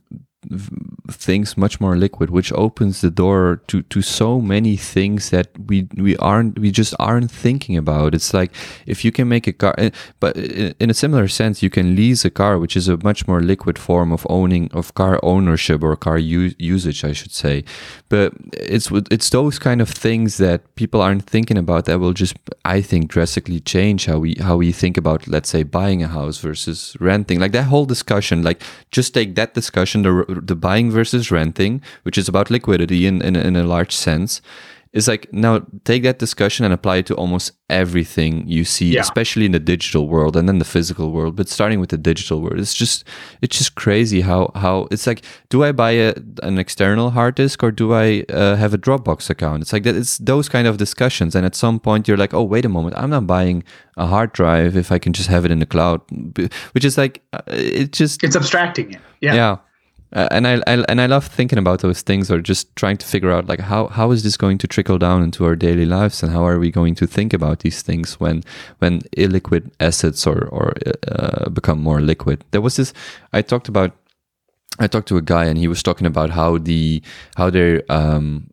things much more liquid, which opens the door to to so many things that we we aren't we just aren't thinking about. It's like if you can make a car, but in a similar sense, you can lease a car, which is a much more liquid form of owning of car ownership or car u- usage, I should say. But it's it's those kind of things that people aren't thinking about that will just, I think, drastically change how we how we think about, let's say, buying a house versus renting. Like that whole discussion, like just take that discussion, the the buying versus renting, which is about liquidity in, in, in a large sense, is like, now take that discussion and apply it to almost everything you see, yeah. especially in the digital world and then the physical world. But starting with the digital world, it's just it's just crazy how how it's like, do I buy a, an external hard disk or do I uh, have a Dropbox account? It's like that. It's those kind of discussions, and at some point you're like, oh, wait a moment, I'm not buying a hard drive if I can just have it in the cloud, which is like uh, it just it's abstracting it. Yeah. Yeah. Uh, and I, I and I love thinking about those things, or just trying to figure out like how, how is this going to trickle down into our daily lives, and how are we going to think about these things when when illiquid assets or or uh, become more liquid. There was this I talked about. I talked to a guy and he was talking about how the how they're um,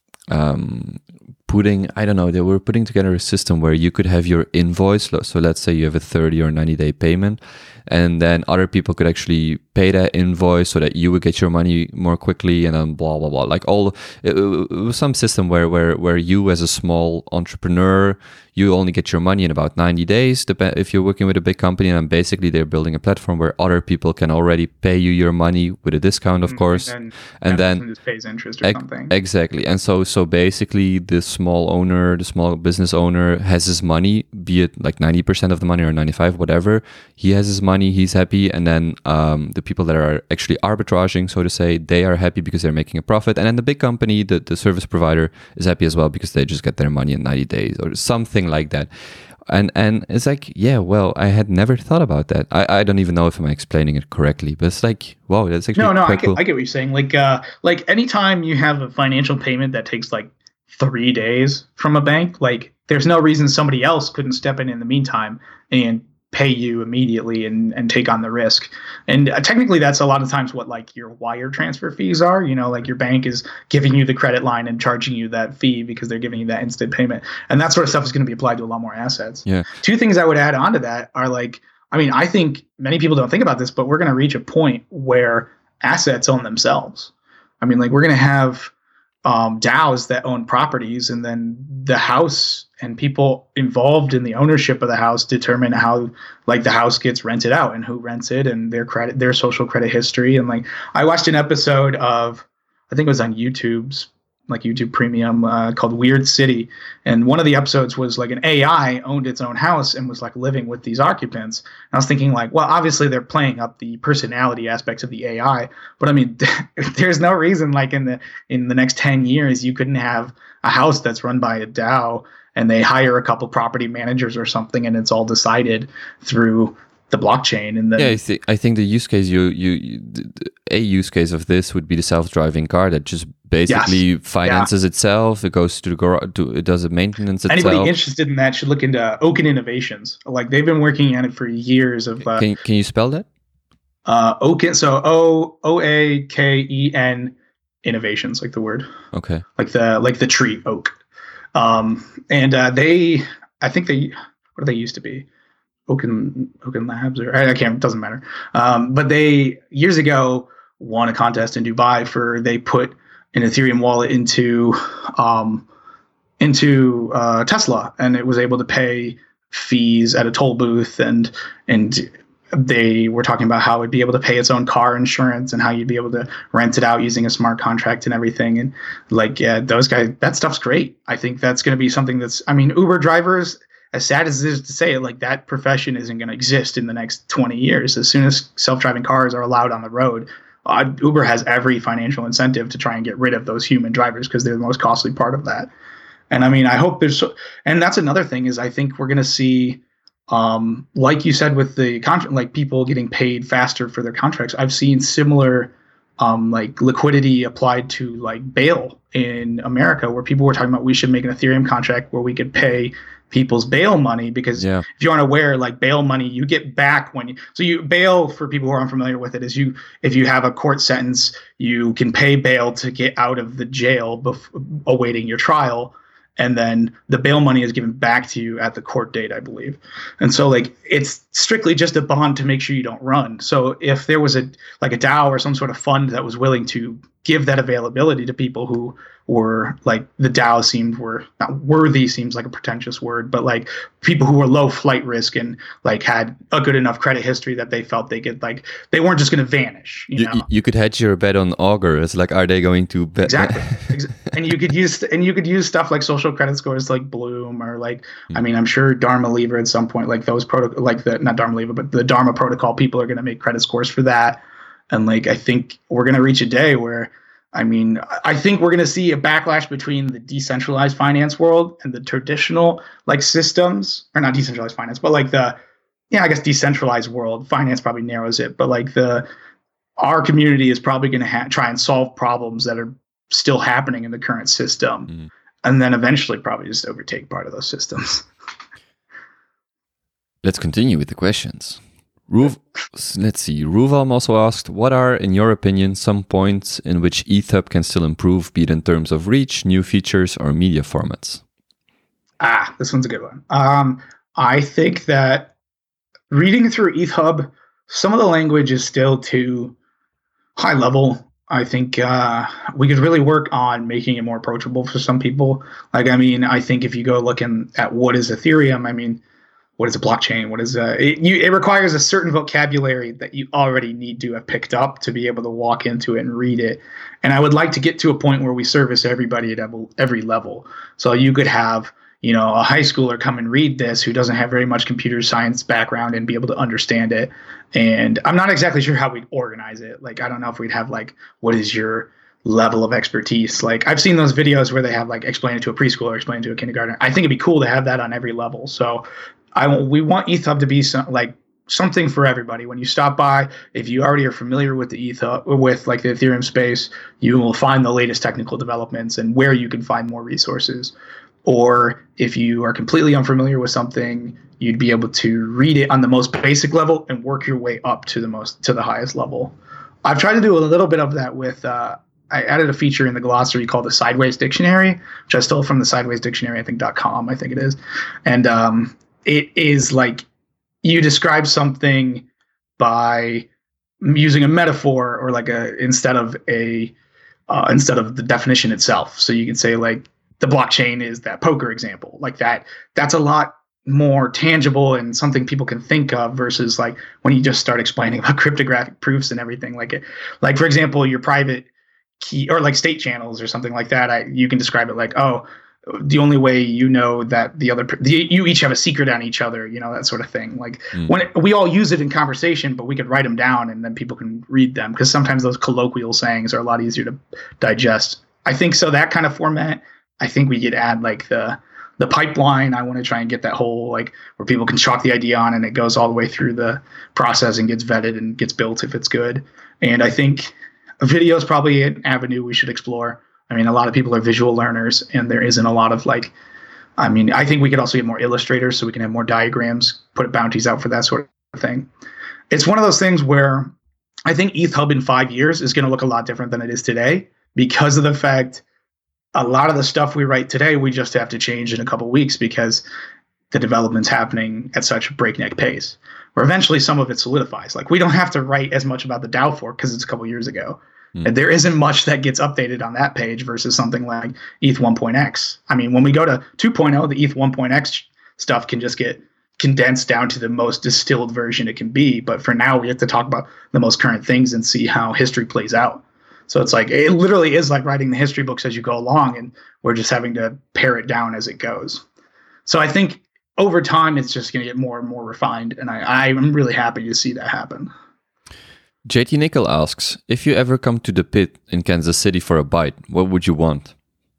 um, putting I don't know they were putting together a system where you could have your invoice. So let's say you have a thirty or ninety day payment, and then other people could actually pay that invoice so that you would get your money more quickly, and then blah blah blah. Like all, it, it was some system where where where you as a small entrepreneur, you only get your money in about ninety days. If you're working with a big company, and basically they're building a platform where other people can already pay you your money with a discount, of course, and, and then just pays interest or ex- something. Exactly, and so so basically the small owner, the small business owner has his money, be it like ninety percent of the money or ninety-five, whatever. He has his money, he's happy, and then um, the people that are actually arbitraging, so to say, they are happy because they're making a profit, and then the big company, the, the service provider, is happy as well because they just get their money in ninety days or something like that. And and it's like, yeah, well, I had never thought about that. I, I don't even know if I'm explaining it correctly, but it's like, wow, that's actually no, no, quite I get, cool. I get what you're saying. Like, uh, like anytime you have a financial payment that takes like three days from a bank, like there's no reason somebody else couldn't step in in the meantime and pay you immediately and, and take on the risk. And uh, technically that's a lot of times what like your wire transfer fees are, you know, like your bank is giving you the credit line and charging you that fee because they're giving you that instant payment. And that sort of stuff is going to be applied to a lot more assets. Yeah. Two things I would add on to that are like, I mean, I think many people don't think about this, but we're going to reach a point where assets own themselves. I mean, like we're going to have um, DAOs that own properties, and then the house and people involved in the ownership of the house determine how like the house gets rented out and who rents it and their credit, their social credit history. And like, I watched an episode of, I think it was on YouTube's like YouTube Premium uh, called Weird City. And one of the episodes was like an A I owned its own house and was like living with these occupants. And I was thinking like, well, obviously they're playing up the personality aspects of the A I, but I mean, there's no reason like in the, in the next ten years, you couldn't have a house that's run by a DAO and they hire a couple property managers or something, and it's all decided through the blockchain. And then yeah, I think I think the use case you you, you a use case of this would be the self-driving car that just basically yes. finances yeah. itself. It goes to the garage, it does the maintenance itself. Anybody interested in that should look into Oaken Innovations. Like they've been working on it for years. Of uh, can can you spell that? Uh, Oaken, so O O A K E N Innovations, like the word. Okay. Like the like the tree oak. Um, and uh, they, I think they, what do they used to be? Oaken Oaken Labs, or I can't. Doesn't matter. Um, but they years ago won a contest in Dubai for they put an Ethereum wallet into um, into uh, Tesla, and it was able to pay fees at a toll booth, and and they were talking about how it'd be able to pay its own car insurance and how you'd be able to rent it out using a smart contract and everything. And like, yeah, those guys, that stuff's great. I think that's going to be something that's, I mean, Uber drivers, as sad as it is to say it, like that profession isn't going to exist in the next twenty years. As soon as self-driving cars are allowed on the road, uh, Uber has every financial incentive to try and get rid of those human drivers because they're the most costly part of that. And I mean, I hope there's, so, and that's another thing is I think we're going to see, Um, like you said, with the contract, like people getting paid faster for their contracts, I've seen similar, um, like liquidity applied to like bail in America, where people were talking about we should make an Ethereum contract where we could pay people's bail money because yeah. if you aren't aware, like bail money, you get back when you, so you bail for people who are unfamiliar with it is you, if you have a court sentence, you can pay bail to get out of the jail before awaiting your trial. And then the bail money is given back to you at the court date, I believe. And so like it's strictly just a bond to make sure you don't run. So if there was a like a DAO or some sort of fund that was willing to give that availability to people who were like the DAO seemed were not worthy seems like a pretentious word, but like people who were low flight risk and like had a good enough credit history that they felt they could like they weren't just going to vanish. You, you know? You could hedge your bet on Augur. It's like, are they going to bet? Exactly. And you could use and you could use stuff like social credit scores like Bloom or like mm. I mean I'm sure Dharma Lever at some point like those protocol like the not Dharma Lever but the Dharma protocol people are going to make credit scores for that. And like I think we're going to reach a day where I mean, I think we're going to see a backlash between the decentralized finance world and the traditional like systems, or not decentralized finance, but like the, yeah, I guess decentralized world. Finance probably narrows it, but like the, our community is probably going to ha- try and solve problems that are still happening in the current system, mm. and then eventually probably just overtake part of those systems. Let's continue with the questions. Ruv, let's see. Ruvalm also asked, what are, in your opinion, some points in which ETHUB can still improve, be it in terms of reach, new features, or media formats? Ah, this one's a good one. Um, I think that reading through ETHUB, some of the language is still too high level. I think uh, we could really work on making it more approachable for some people. Like, I mean, I think if you go looking at what is Ethereum, I mean, what is a blockchain? What is a, it, you, it requires a certain vocabulary that you already need to have picked up to be able to walk into it and read it. And I would like to get to a point where we service everybody at every level. So you could have, you know, a high schooler come and read this who doesn't have very much computer science background and be able to understand it. And I'm not exactly sure how we'd organize it. Like, I don't know if we'd have like, what is your level of expertise? Like, I've seen those videos where they have like explain it to a preschooler, explain it to a kindergartner. I think it'd be cool to have that on every level. So I we want ETHUB to be some, like something for everybody. When you stop by, if you already are familiar with the ETHUB, with like the Ethereum space, you will find the latest technical developments and where you can find more resources. Or if you are completely unfamiliar with something, you'd be able to read it on the most basic level and work your way up to the most to the highest level. I've tried to do a little bit of that with. Uh, I added a feature in the glossary called the Sideways Dictionary, which I stole from the Sideways Dictionary, I think .com, I think it is, and um, it is like you describe something by using a metaphor or like a instead of a uh, instead of the definition itself. So you can say like the blockchain is that poker example, like that. That's a lot more tangible and something people can think of versus like when you just start explaining about cryptographic proofs and everything. Like it, like for example, your private key or like state channels or something like that. I you can describe it like, oh, the only way you know that the other the, you each have a secret on each other, you know, that sort of thing. Like mm. when it, we all use it in conversation, but we could write them down and then people can read them because sometimes those colloquial sayings are a lot easier to digest. I think so. That kind of format. I think we could add like the the pipeline. I want to try and get that whole like where people can chalk the idea on and it goes all the way through the process and gets vetted and gets built if it's good. And I think video is probably an avenue we should explore. I mean, a lot of people are visual learners, and there isn't a lot of like, I mean, I think we could also get more illustrators so we can have more diagrams, put bounties out for that sort of thing. It's one of those things where I think E T H Hub in five years is going to look a lot different than it is today because of the fact a lot of the stuff we write today, we just have to change in a couple of weeks because the development's happening at such a breakneck pace, where eventually some of it solidifies. Like we don't have to write as much about the DAO fork because it's a couple of years ago. Mm. And there isn't much that gets updated on that page versus something like E T H one point x. I mean, when we go to two point oh, the E T H one point x stuff can just get condensed down to the most distilled version it can be. But for now, we have to talk about the most current things and see how history plays out. So it's like, it literally is like writing the history books as you go along, and we're just having to pare it down as it goes. So I think over time, it's just going to get more and more refined. And I, I'm really happy to see that happen. J T Nickel asks, if you ever come to the pit in Kansas City for a bite, what would you want?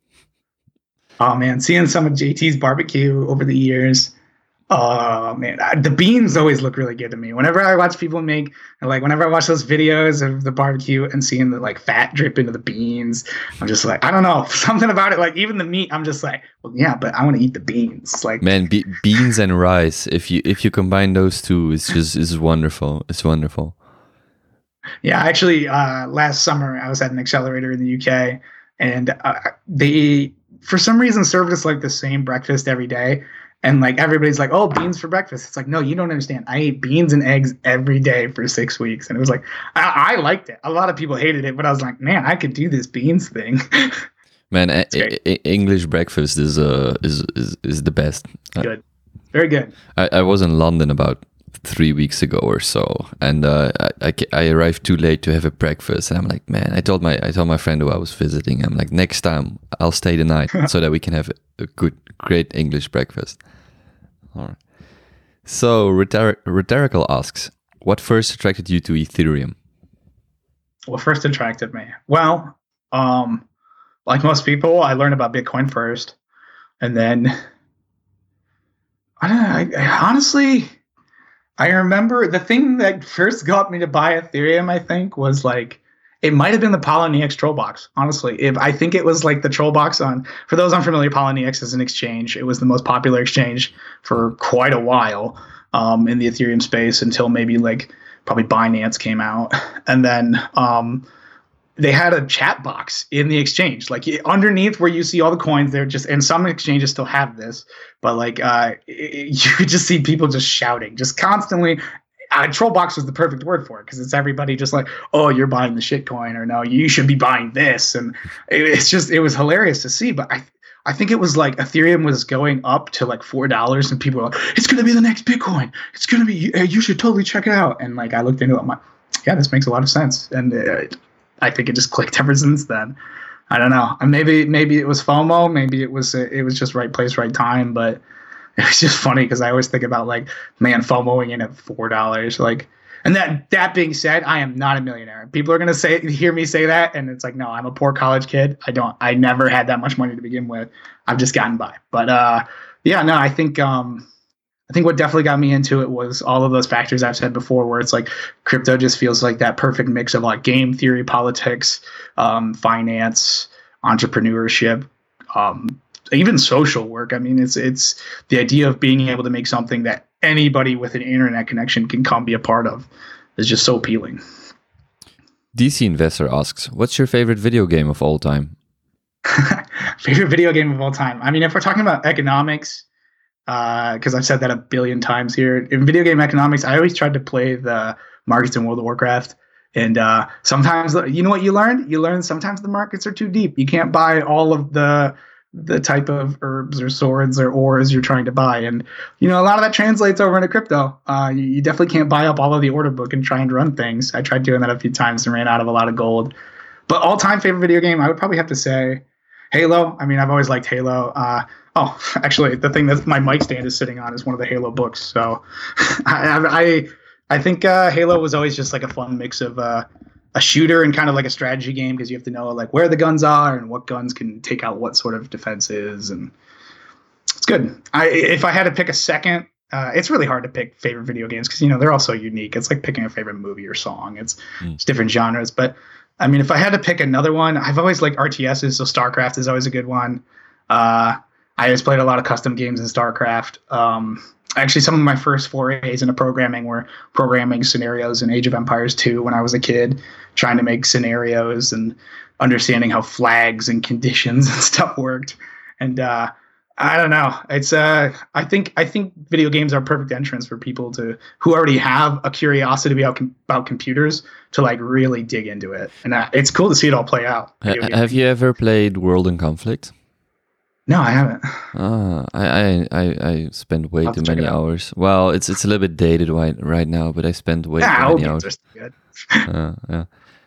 Oh man, seeing some of J T's barbecue over the years. Oh man, I, the beans always look really good to me. Whenever I watch people make, like whenever I watch those videos of the barbecue and seeing the like fat drip into the beans, I'm just like, I don't know, something about it. Like even the meat, I'm just like, well, yeah, but I want to eat the beans. Like man, be- beans and rice. If you if you combine those two, it's just it's wonderful. It's wonderful. Yeah, actually, uh, last summer I was at an accelerator in the U K, and uh, they for some reason served us like the same breakfast every day. And like everybody's like, oh, beans for breakfast. It's like, no, you don't understand. I ate beans and eggs every day for six weeks. And it was like, I, I liked it. A lot of people hated it, but I was like, man, I could do this beans thing. Man, a- a- English breakfast is uh is is, is the best. Good. Very good. I, I was in London about three weeks ago or so, and uh, I, I I arrived too late to have a breakfast, and I'm like, man, I told my I told my friend who I was visiting, I'm like, next time I'll stay the night so that we can have a good, great English breakfast. All right. So Rhetor- Rhetorical asks, what first attracted you to Ethereum? What first attracted me? Well, um, like most people, I learned about Bitcoin first, and then I don't know. I, I honestly. I remember the thing that first got me to buy Ethereum, I think, was like, it might have been the Poloniex Trollbox. Honestly, if I think it was like the Trollbox on, for those unfamiliar, Poloniex is an exchange. It was the most popular exchange for quite a while um, in the Ethereum space until maybe like probably Binance came out. And then um, they had a chat box in the exchange, like underneath where you see all the coins. They're just, and some exchanges still have this, but like uh, it, you could just see people just shouting, just constantly. Uh, Trollbox was the perfect word for it because it's everybody just like, oh, you're buying the shitcoin, or no, you should be buying this, and it, it's just it was hilarious to see. But I I think it was like Ethereum was going up to like four dollars, and people were like, it's gonna be the next Bitcoin. It's gonna be. You should totally check it out. And like I looked into it, I'm like, yeah, this makes a lot of sense, and it, I think it just clicked ever since then. I don't know. And maybe maybe it was FOMO. Maybe it was it was just right place, right time. But it was just funny because I always think about like, man, FOMOing in at four dollars. Like, and that that being said, I am not a millionaire. People are gonna say hear me say that, and it's like, no, I'm a poor college kid. I don't. I never had that much money to begin with. I've just gotten by. But uh, yeah, no, I think um, I think what definitely got me into it was all of those factors I've said before, where it's like crypto just feels like that perfect mix of like game theory, politics, um, finance, entrepreneurship, um, even social work. I mean, it's it's the idea of being able to make something that anybody with an internet connection can come be a part of is just so appealing. D C Investor asks, what's your favorite video game of all time? Favorite video game of all time? I mean, if we're talking about economics, because uh, I've said that a billion times here. In video game economics, I always tried to play the markets in World of Warcraft. And uh, sometimes, you know what you learned? You learned sometimes the markets are too deep. You can't buy all of the the type of herbs or swords or ores you're trying to buy. And, you know, a lot of that translates over into crypto. Uh, you, you definitely can't buy up all of the order book and try and run things. I tried doing that a few times and ran out of a lot of gold. But all-time favorite video game, I would probably have to say Halo. I mean, I've always liked Halo. Uh, oh, actually, the thing that my mic stand is sitting on is one of the Halo books. So I, I, I think uh, Halo was always just like a fun mix of uh, a shooter and kind of like a strategy game, because you have to know like where the guns are and what guns can take out what sort of defenses. And It's good. I if I had to pick a second, uh, it's really hard to pick favorite video games because you know they're all so unique. It's like picking a favorite movie or song. It's mm. it's different genres. But I mean, if I had to pick another one, I've always liked R T Ss. So StarCraft is always a good one. Uh, I always played a lot of custom games in StarCraft. Um, actually, some of my first forays into programming were programming scenarios in Age of Empires two when I was a kid, trying to make scenarios and understanding how flags and conditions and stuff worked. And uh, I don't know. It's uh, I think I think video games are a perfect entrance for people to who already have a curiosity about about computers to like really dig into it. And uh, it's cool to see it all play out. Uh, have you ever played World in Conflict? No, I haven't. Ah, I I I spent way too many hours. Well, it's it's a little bit dated right right now, but I spent way yeah, too many hours. Good. uh, yeah.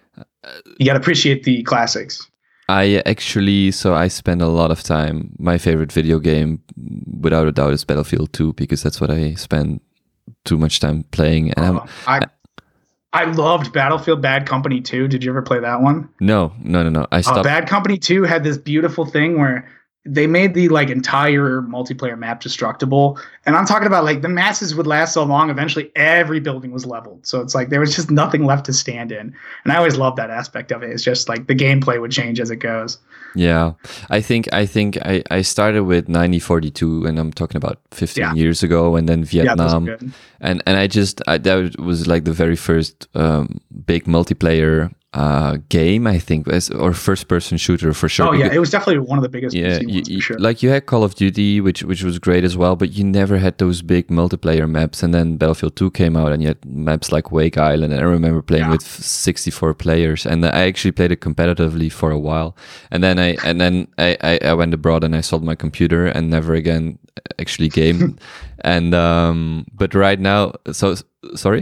You gotta appreciate the classics. I actually, so I spend a lot of time. My favorite video game, without a doubt, is Battlefield two because that's what I spend too much time playing. And oh, I I loved Battlefield Bad Company two. Did you ever play that one? No, no, no, no. I stopped. Uh, Bad Company two had this beautiful thing where they made the like entire multiplayer map destructible. And I'm talking about like the masses would last so long, eventually every building was leveled. So it's like there was just nothing left to stand in. And I always loved that aspect of it. It's just like the gameplay would change as it goes. Yeah. I think I think I, I started with ninety forty-two and I'm talking about fifteen yeah. years ago, and then Vietnam. Yeah, and and I just I, that was like the very first um, big multiplayer Uh, game, I think, as, or first-person shooter for sure. Oh yeah, it was definitely one of the biggest. Yeah, you, you, sure. Like you had Call of Duty, which which was great as well, but you never had those big multiplayer maps. And then Battlefield two came out, and you had maps like Wake Island. And I remember playing yeah. with sixty-four players, and I actually played it competitively for a while. And then I and then I, I, I went abroad and I sold my computer and never again actually gamed. and um, but right now, so sorry.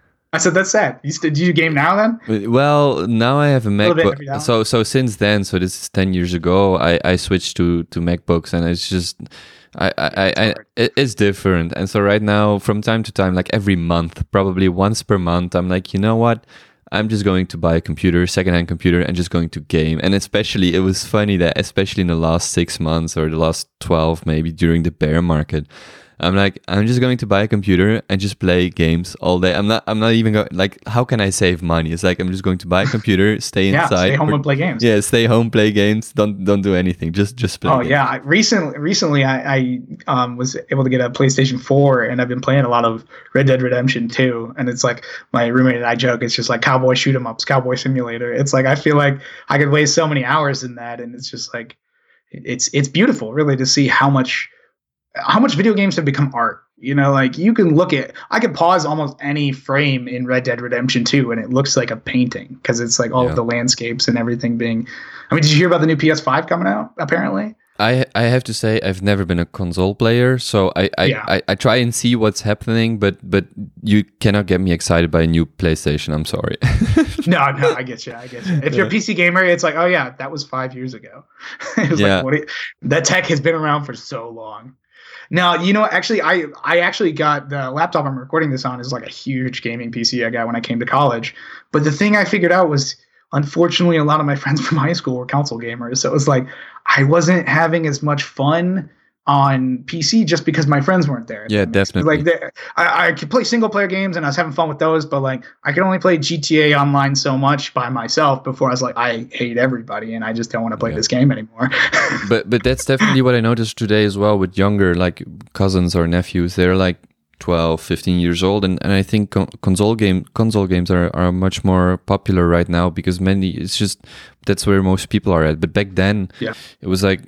I said that's sad. You st- do you game now then? Well, now I have a MacBook. So so since then, so this is ten years ago, I, I switched to, to MacBooks, and it's just I I, I, I it, it's different. And so right now, from time to time, like every month, probably once per month, I'm like, you know what? I'm just going to buy a computer, secondhand computer, and just going to game. And especially, it was funny that especially in the last six months or the last twelve, maybe during the bear market, I'm like, I'm just going to buy a computer and just play games all day. I'm not, I'm not even going, like, how can I save money? It's like, I'm just going to buy a computer, stay yeah, inside. stay home or, and play games. Yeah, stay home, play games. Don't, don't do anything. Just, just play Oh games. yeah. I, recently, recently I, I um, was able to get a PlayStation four, and I've been playing a lot of Red Dead Redemption two. And it's like, my roommate and I joke, it's just like cowboy shoot 'em ups, cowboy simulator. It's like, I feel like I could waste so many hours in that. And it's just like, it's, it's beautiful really to see how much, how much video games have become art. You know, like you can look at, I could pause almost any frame in Red Dead Redemption two and it looks like a painting because it's like all yeah. of the landscapes and everything being, I mean, did you hear about the new P S five coming out apparently? I I have to say I've never been a console player, so I I, yeah. I, I try and see what's happening, but but you cannot get me excited by a new PlayStation. I'm sorry. no, no, I get you. I get you. If you're a P C gamer, it's like, oh yeah, that was five years ago. it was yeah. like, what you, that tech has been around for so long. Now, you know, actually, I I actually got the laptop I'm recording this on is like a huge gaming P C I got when I came to college. But the thing I figured out was, unfortunately, a lot of my friends from high school were console gamers. So it was like I wasn't having as much fun on P C just because my friends weren't there. Yeah, definitely. Like I, I could play single player games and I was having fun with those, but like I could only play G T A Online so much by myself before I was like, I hate everybody and I just don't want to play yeah. this game anymore. but but that's definitely what I noticed today as well with younger like cousins or nephews. They're like twelve, fifteen years old, and, and I think con- console game console games are, are much more popular right now because many it's just that's where most people are at. But back then yeah. it was like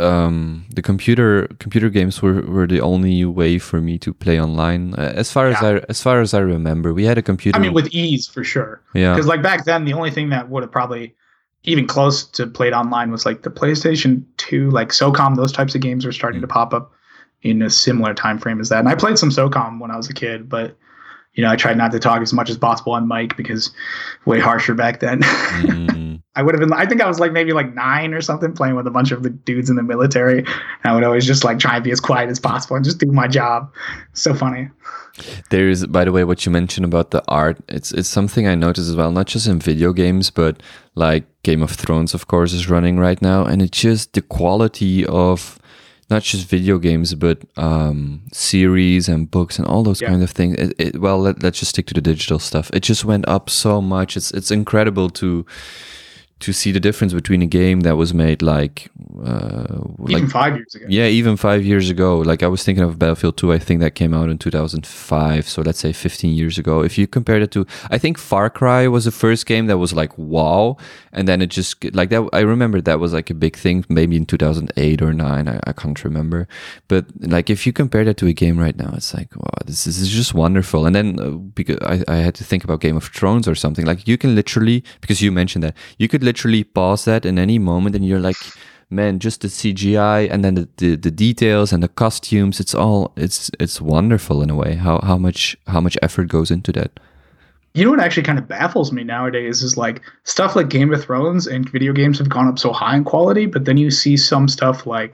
um, the computer computer games were, were the only way for me to play online. Uh, as far yeah. as I as far as I remember, we had a computer. I mean, with ease for sure. Yeah, because like back then, the only thing that would have probably even close to played online was like the PlayStation two, like SOCOM. Those types of games were starting mm. to pop up in a similar time frame as that. And I played some SOCOM when I was a kid, but you know, I tried not to talk as much as possible on mic because way harsher back then. Mm. I would have been, I think I was like maybe like nine or something playing with a bunch of the dudes in the military. And I would always just like try and be as quiet as possible and just do my job. So funny. There's, by the way, what you mentioned about the art, it's it's something I noticed as well, not just in video games, but like Game of Thrones, of course, is running right now. And it's just the quality of not just video games, but um, series and books and all those Yeah. kind of things. It, it, well, let, let's just stick to the digital stuff. It just went up so much. It's it's incredible to to see the difference between a game that was made like uh, Even like five years ago. yeah, even five years ago. Like I was thinking of Battlefield two. I think that came out in two thousand five. So let's say fifteen years ago. If you compare it to, I think Far Cry was the first game that was like wow, and then it just like that. I remember that was like a big thing, maybe in two thousand eight or nine. I, I can't remember. But like if you compare that to a game right now, it's like wow, this, this is just wonderful. And then uh, because I, I had to think about Game of Thrones or something. Like you can literally, because you mentioned that, you could literally pause that in any moment, and you're like, man, just the C G I and then the, the, the details and the costumes, it's all it's it's wonderful in a way. How how much how much effort goes into that. You know what actually kind of baffles me nowadays is like stuff like Game of Thrones and video games have gone up so high in quality, but then you see some stuff like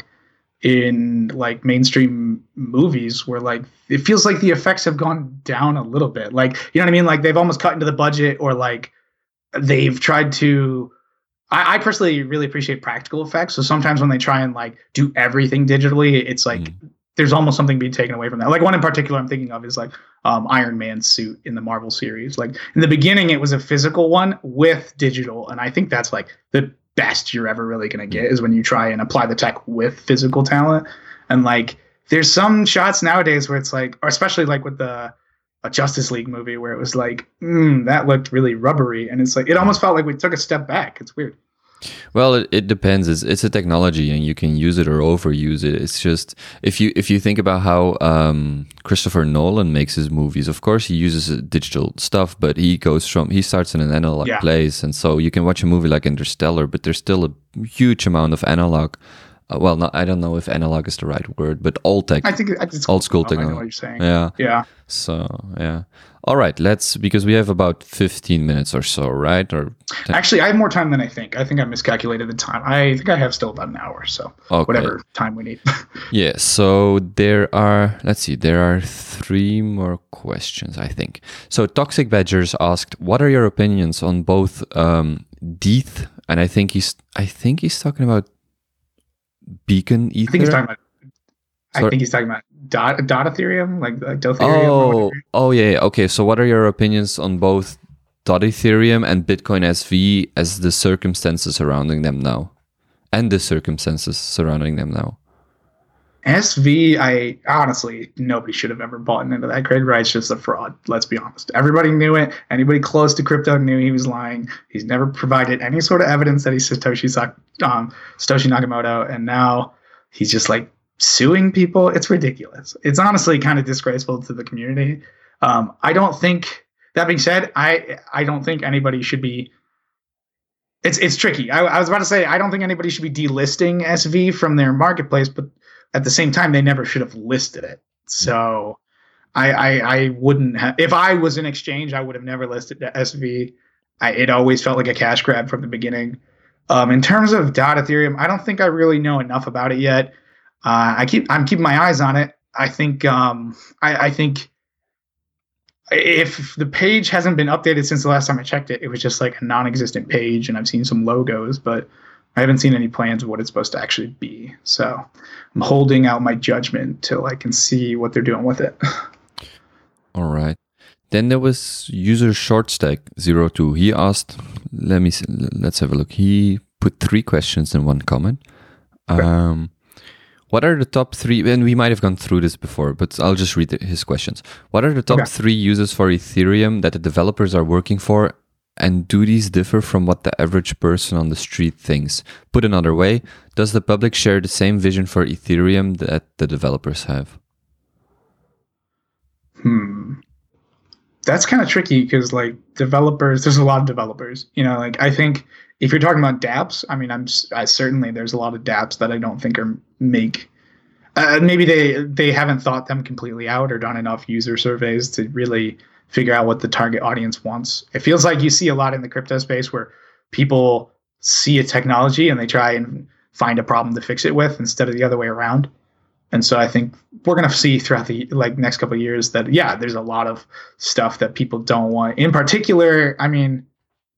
in like mainstream movies where like it feels like the effects have gone down a little bit. Like, you know what I mean? Like they've almost cut into the budget, or like they've tried to I, I personally really appreciate practical effects. So sometimes when they try and like do everything digitally, it's like mm. there's almost something being taken away from that. Like one in particular I'm thinking of is like um, Iron Man's suit in the Marvel series. Like in the beginning, it was a physical one with digital. And I think that's like the best you're ever really going to get is when you try and apply the tech with physical talent. And like there's some shots nowadays where it's like, or especially like with the a Justice League movie where it was like, mm, that looked really rubbery. And it's like, it almost felt like we took a step back. It's weird. Well, it, it depends. It's, it's a technology, and you can use it or overuse it. It's just if you if you think about how um, Christopher Nolan makes his movies. Of course, he uses digital stuff, but he goes from he starts in an analog yeah. place, and so you can watch a movie like Interstellar, but there's still a huge amount of analog. Uh, well, not, I don't know if analog is the right word, but old tech. I think it's old school technology. I know what you're saying. Yeah, yeah. So yeah. All right, let's because we have about fifteen minutes or so, right? Or ten. Actually, I have more time than I think. I think I miscalculated the time. I think I have still about an hour, so okay. Whatever time we need. Yeah. So there are. Let's see. There are three more questions, I think. So Toxic Badgers asked, "What are your opinions on both um, D E T H and I think he's I think he's talking about Beacon Ether. I think he's talking about. Sorry? I think he's talking about dot, dot Ethereum, like, like Dothereum. Oh, oh yeah. Okay. So, what are your opinions on both dot Ethereum and Bitcoin S V as the circumstances surrounding them now, and the circumstances surrounding them now? S V, I honestly, nobody should have ever bought into that grid, right? It's just a fraud. Let's be honest. Everybody knew it. Anybody close to crypto knew he was lying. He's never provided any sort of evidence that he's Satoshi, um, Satoshi Nakamoto, and now he's just like suing people. It's ridiculous. It's honestly kind of disgraceful to the community. Um, I don't think. That being said, I I don't think anybody should be. It's it's tricky. I, I was about to say I don't think anybody should be delisting S V from their marketplace, but at the same time, they never should have listed it. So I, I, I wouldn't have, if I was an exchange, I would have never listed the S V. I, it always felt like a cash grab from the beginning. Um, in terms of dot Ethereum, I don't think I really know enough about it yet. Uh, I keep, I'm keeping my eyes on it. I think, um, I, I think if the page hasn't been updated since the last time I checked it, it was just like a non-existent page, and I've seen some logos, but I haven't seen any plans of what it's supposed to actually be. So I'm holding out my judgment till I can see what they're doing with it. All right. Then there was user shortstack zero two. He asked, let me see, let's have a look. He put three questions in one comment. Okay. Um, what are the top three, and we might have gone through this before, but I'll just read his questions. What are the top okay. three uses for Ethereum that the developers are working for? And do these differ from what the average person on the street thinks? Put another way, does the public share the same vision for Ethereum that the developers have? Hmm. That's kind of tricky because, like, developers, there's a lot of developers. You know, like, I think if you're talking about dApps, I mean, I'm I certainly there's a lot of dApps that I don't think are make. Uh, maybe they they haven't thought them completely out or done enough user surveys to really figure out what the target audience wants. It feels like you see a lot in the crypto space where people see a technology and they try and find a problem to fix it with instead of the other way around. And so I think we're going to see throughout the like next couple of years that, yeah, there's a lot of stuff that people don't want. In particular, I mean,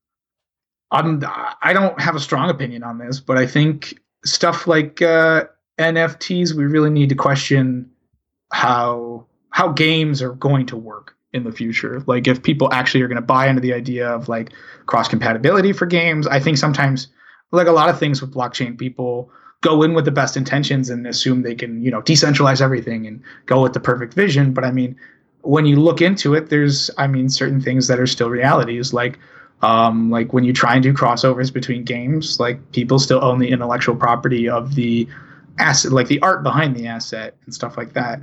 I'm, I don't have a strong opinion on this, but I think stuff like uh, N F Ts, we really need to question how how games are going to work in the future. Like if people actually are going to buy into the idea of like cross compatibility for games. I think sometimes like a lot of things with blockchain, people go in with the best intentions and assume they can, you know, decentralize everything and go with the perfect vision. But I mean, when you look into it, there's, I mean, certain things that are still realities. Like, um, like when you try and do crossovers between games, like people still own the intellectual property of the asset, like the art behind the asset and stuff like that.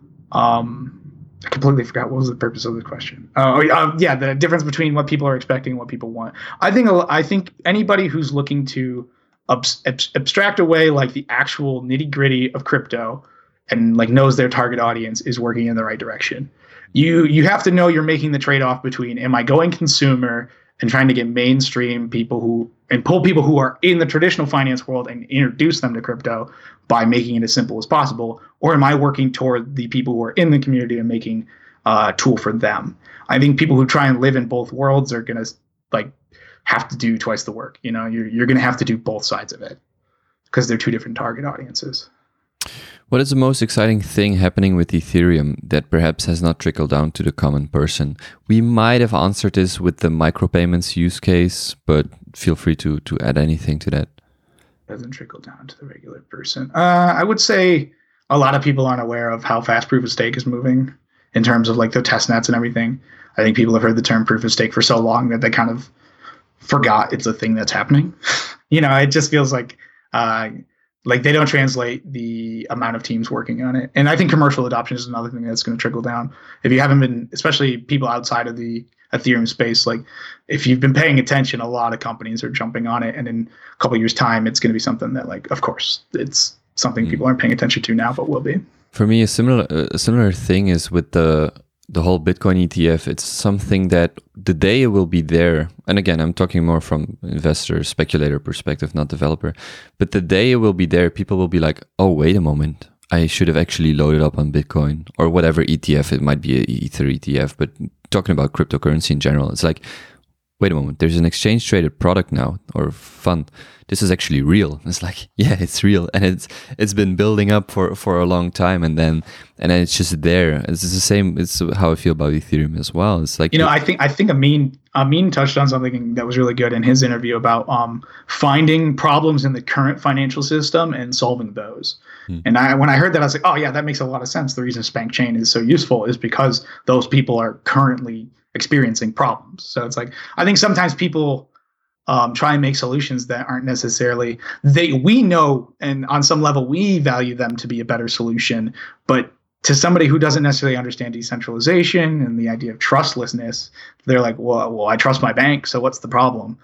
Um, I completely forgot what was the purpose of the question. Uh, uh, yeah, the difference between what people are expecting and what people want. I think I think anybody who's looking to ab- ab- abstract away like the actual nitty gritty of crypto and like knows their target audience is working in the right direction. You you have to know you're making the trade off between am I going consumer and trying to get mainstream people who and pull people who are in the traditional finance world and introduce them to crypto by making it as simple as possible, or am I working toward the people who are in the community and making uh, a tool for them? I think people who try and live in both worlds are gonna like have to do twice the work. You know, you're you're gonna have to do both sides of it because they're two different target audiences. What is the most exciting thing happening with Ethereum that perhaps has not trickled down to the common person? We might have answered this with the micropayments use case, but feel free to to add anything to that. Doesn't trickle down to the regular person. Uh, I would say a lot of people aren't aware of how fast proof of stake is moving in terms of like the test nets and everything. I think people have heard the term proof of stake for so long that they kind of forgot it's a thing that's happening. You know, it just feels like uh, like they don't translate the amount of teams working on it. And I think commercial adoption is another thing that's going to trickle down. If you haven't been, especially people outside of the Ethereum space, like if you've been paying attention, a lot of companies are jumping on it. And in a couple of years' time, it's going to be something that, like, of course, it's something mm. people aren't paying attention to now, but will be. For me, a similar a similar thing is with the the whole Bitcoin E T F. It's something that the day it will be there, and again, I'm talking more from investor, speculator perspective, not developer, but the day it will be there, people will be like, oh, wait a moment, I should have actually loaded up on Bitcoin or whatever E T F. It might be an Ether E T F, but talking about cryptocurrency in general, it's like, wait a moment, there's an exchange traded product now or fund. This is actually real. It's like, yeah, it's real. And it's it's been building up for, for a long time, and then and then it's just there. It's the same, it's how I feel about Ethereum as well. It's like, you know, I think I think Amin Amin touched on something that was really good in his interview about um finding problems in the current financial system and solving those. Hmm. And I when I heard that, I was like, oh yeah, that makes a lot of sense. The reason Spank Chain is so useful is because those people are currently experiencing problems. So it's like, I think sometimes people Um, try and make solutions that aren't necessarily they we know, and on some level we value them to be a better solution, but to somebody who doesn't necessarily understand decentralization and the idea of trustlessness, they're like, well, well, I trust my bank, so what's the problem?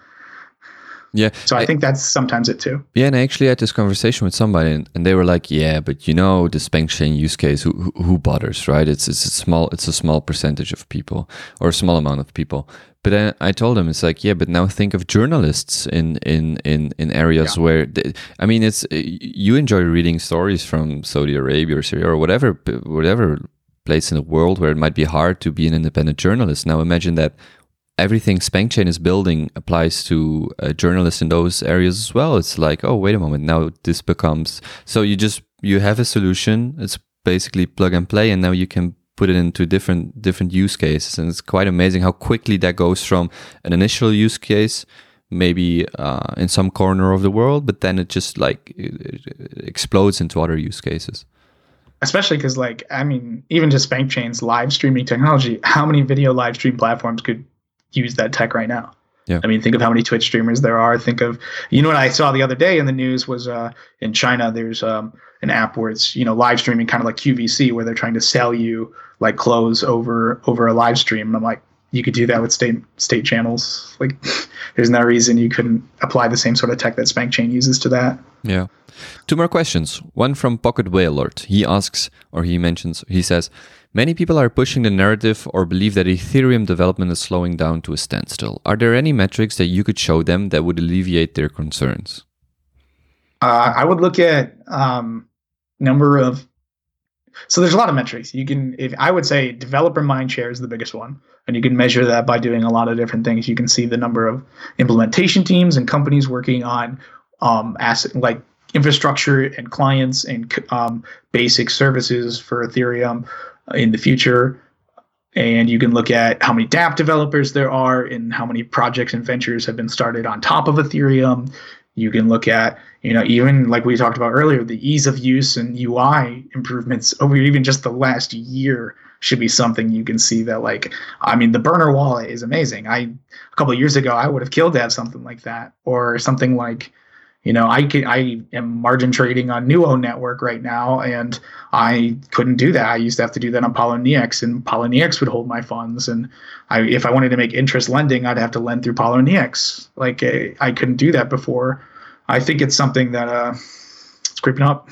Yeah. So I, I think that's sometimes it too. Yeah, and I actually had this conversation with somebody, and, and they were like, "Yeah, but you know, the Spank Chain use case, who, who who bothers, right? It's it's a small it's a small percentage of people, or a small amount of people." But then I told them, it's like, yeah, but now think of journalists in in in, in areas yeah. where, they, I mean, it's you enjoy reading stories from Saudi Arabia or Syria or whatever whatever place in the world where it might be hard to be an independent journalist. Now imagine that everything Spank Chain is building applies to uh, journalists in those areas as well. It's like, oh, wait a moment, now this becomes, so you just, you have a solution, it's basically plug and play, and now you can put it into different different use cases. And it's quite amazing how quickly that goes from an initial use case, maybe uh, in some corner of the world, but then it just like it, it explodes into other use cases. Especially because, like, I mean, even just Spank Chain's live streaming technology, how many video live stream platforms could use that tech right now? Yeah. I mean, think of how many Twitch streamers there are. Think of, you know, what I saw the other day in the news was uh, in China, there's um, an app where it's, you know, live streaming kind of like Q V C, where they're trying to sell you like clothes over over a live stream. And I'm like, you could do that with state state channels. Like, there's no reason you couldn't apply the same sort of tech that Spank Chain uses to that. Yeah. Two more questions. One from Pocket Whalelord. He asks, or he mentions, he says, many people are pushing the narrative or believe that Ethereum development is slowing down to a standstill. Are there any metrics that you could show them that would alleviate their concerns? Uh, I would look at um, number of. So there's a lot of metrics. You can, if I would say, developer mindshare is the biggest one, and you can measure that by doing a lot of different things. You can see the number of implementation teams and companies working on um, asset like infrastructure and clients and um, basic services for Ethereum in the future. And you can look at how many dApp developers there are and how many projects and ventures have been started on top of Ethereum. You can look at, you know, even like we talked about earlier, the ease of use and U I improvements over even just the last year should be something you can see that, like, I mean, the burner wallet is amazing. I, a couple of years ago, I would have killed to have something like that, or something like, you know, I could, I am margin trading on Nuo network right now, and I couldn't do that. I used to have to do that on Poloniex, and Poloniex would hold my funds. And I, if I wanted to make interest lending, I'd have to lend through Poloniex. Like I, I couldn't do that before. I think it's something that uh, it's creeping up.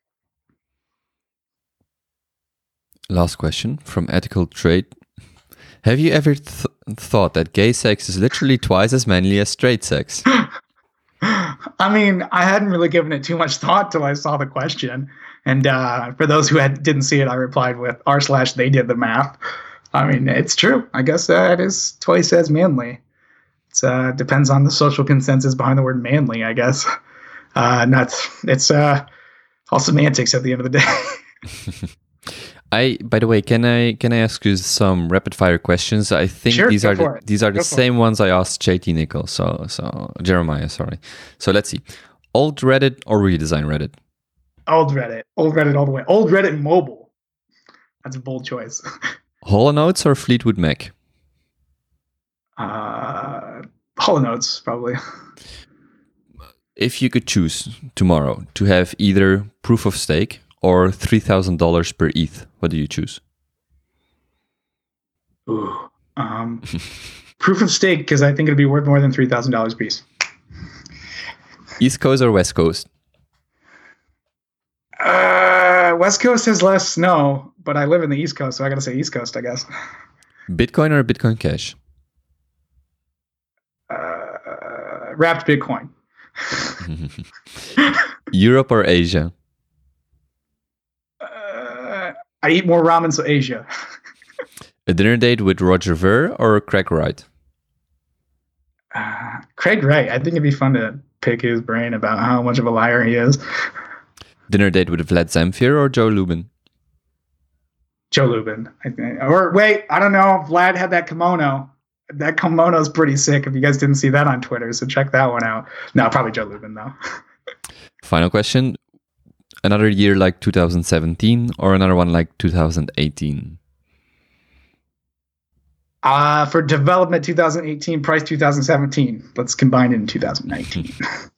Last question from Ethical Trade. Have you ever th- thought that gay sex is literally twice as manly as straight sex? I mean, I hadn't really given it too much thought till I saw the question. And uh, for those who had, didn't see it, I replied with r slash they did the math. I mean, it's true. I guess uh, it is twice as manly. It uh, depends on the social consensus behind the word manly, I guess. Uh, not, it's uh, all semantics at the end of the day. I, by the way, can I can I ask you some rapid fire questions? I think sure, these are the, it. these are go the same it. ones I asked J T Nickel. So so Jeremiah, sorry. So let's see. Old Reddit or redesign Reddit? Old Reddit. Old Reddit all the way. Old Reddit mobile. That's a bold choice. Hollow Notes or Fleetwood Mac? Uh, Hollow Notes, probably. If you could choose tomorrow to have either proof of stake or three thousand dollars per E T H, what do you choose? Ooh, um, proof of stake, because I think it'd be worth more than three thousand dollars a piece. East Coast or West Coast? Uh, West Coast has less snow, but I live in the East Coast, so I gotta say East Coast, I guess. Bitcoin or Bitcoin Cash? Uh, wrapped Bitcoin. Europe or Asia? Uh, I eat more ramen, so Asia. A dinner date with Roger Ver or Craig Wright? Uh, Craig Wright. I think it'd be fun to pick his brain about how much of a liar he is. Dinner date with Vlad Zamfir or Joe Lubin? Joe Lubin, I think. Or wait, I don't know. Vlad had that kimono. That kimono's pretty sick. If you guys didn't see that on Twitter, so check that one out. No, probably Joe Lubin though. Final question. Another year like two thousand seventeen or another one like two thousand eighteen? Uh, for development two thousand eighteen, price two thousand seventeen. Let's combine it in two thousand nineteen.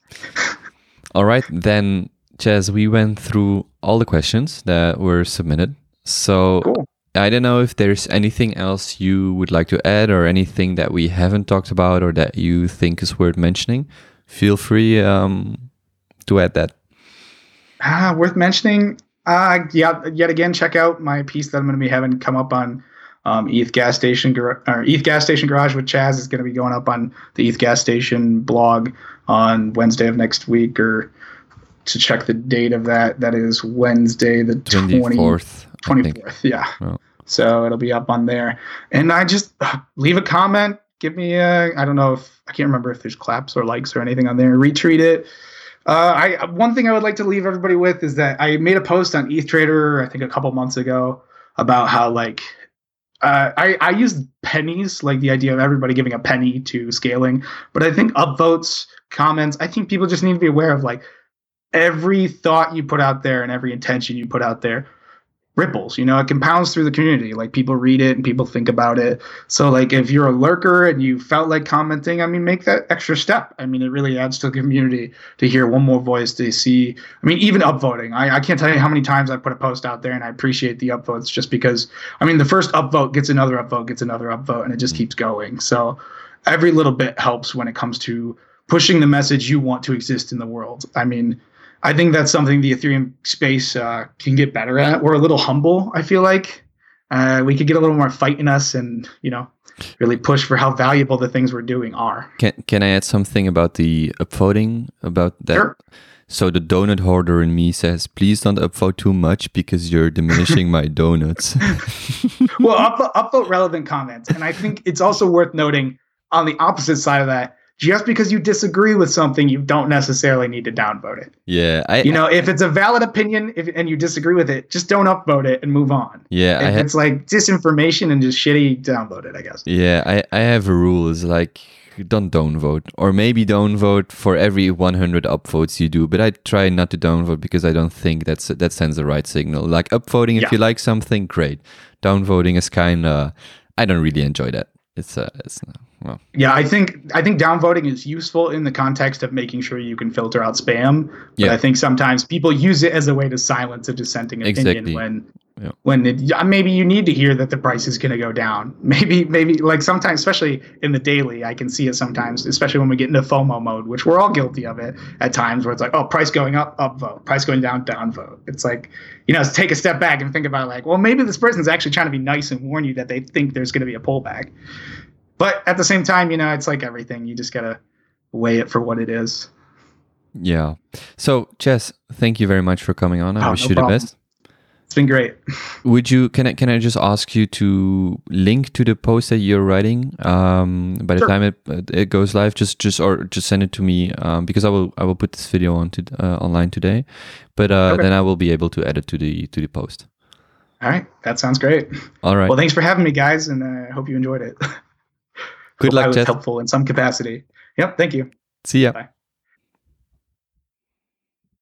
All right, then, Chaz, we went through all the questions that were submitted. So cool. I don't know if there's anything else you would like to add or anything that we haven't talked about or that you think is worth mentioning. Feel free um, to add that. Ah, worth mentioning. Uh, yeah, yet again, check out my piece that I'm going to be having come up on um, E T H Gas Station Gar- or E T H Gas Station Garage with Chaz is going to be going up on the E T H Gas Station blog on Wednesday of next week, or to check the date of that. That is Wednesday the twenty-fourth. twenty-fourth, yeah. Oh. So it'll be up on there. And I just uh, leave a comment. Give me a, I don't know if, I can't remember if there's claps or likes or anything on there. Retweet it. Uh, I one thing I would like to leave everybody with is that I made a post on E T H Trader, I think a couple months ago, about how like uh, I I used pennies, like the idea of everybody giving a penny to scaling. But I think upvotes, comments, I think people just need to be aware of like every thought you put out there and every intention you put out there ripples, you know, it compounds through the community. Like people read it and people think about it. So like if you're a lurker and you felt like commenting, I mean, make that extra step. I mean, it really adds to the community to hear one more voice, to see, I mean, even upvoting. I, I can't tell you how many times I put a post out there and I appreciate the upvotes just because, I mean, the first upvote gets another upvote, gets another upvote, and it just keeps going. So every little bit helps when it comes to pushing the message you want to exist in the world. I mean, I think that's something the Ethereum space uh, can get better at. We're a little humble, I feel like. Uh, we could get a little more fight in us and, you know, really push for how valuable the things we're doing are. Can Can I add something about the upvoting? About that? Sure. So the donut hoarder in me says, please don't upvote too much because you're diminishing my donuts. Well, upvote, upvote relevant comments. And I think it's also worth noting on the opposite side of that, just because you disagree with something, you don't necessarily need to downvote it. Yeah, I, you know, if it's a valid opinion if, and you disagree with it, just don't upvote it and move on. Yeah, if I it's ha- like disinformation and just shitty, downvote it, I guess. Yeah, I, I have a rule. It's like, don't downvote, or maybe downvote for every one hundred upvotes you do. But I try not to downvote because I don't think that's that sends the right signal. Like upvoting, if Yeah. you like something, great. Downvoting is kind of, I don't really enjoy that. It's uh, it's uh, well. Yeah, I think I think downvoting is useful in the context of making sure you can filter out spam. But Yeah. I think sometimes people use it as a way to silence a dissenting opinion Exactly. when Yeah. when it, yeah, maybe you need to hear that the price is going to go down. Maybe maybe like sometimes, especially in the daily, I can see it sometimes, especially when we get into FOMO mode, which we're all guilty of it at times, where it's like, oh, price going up, upvote, price going down, downvote. It's like, you know, take a step back and think about like, well, maybe this person's actually trying to be nice and warn you that they think there's going to be a pullback. But at the same time, you know, it's like everything. You just got to weigh it for what it is. Yeah. So, Chess, thank you very much for coming on. I Oh, wish no you problem. the best. It's been great. Would you can I can I just ask you to link to the post that you're writing um, by the Sure. time it it goes live? Just just or just send it to me um, because I will I will put this video on to, uh, online today, but uh, Okay. then I will be able to add it to the to the post. All right. That sounds great. All right. Well, thanks for having me, guys, and I uh, hope you enjoyed it. Good Hope I luck, was Chess. helpful in some capacity. Yep. Thank you. See ya. Bye.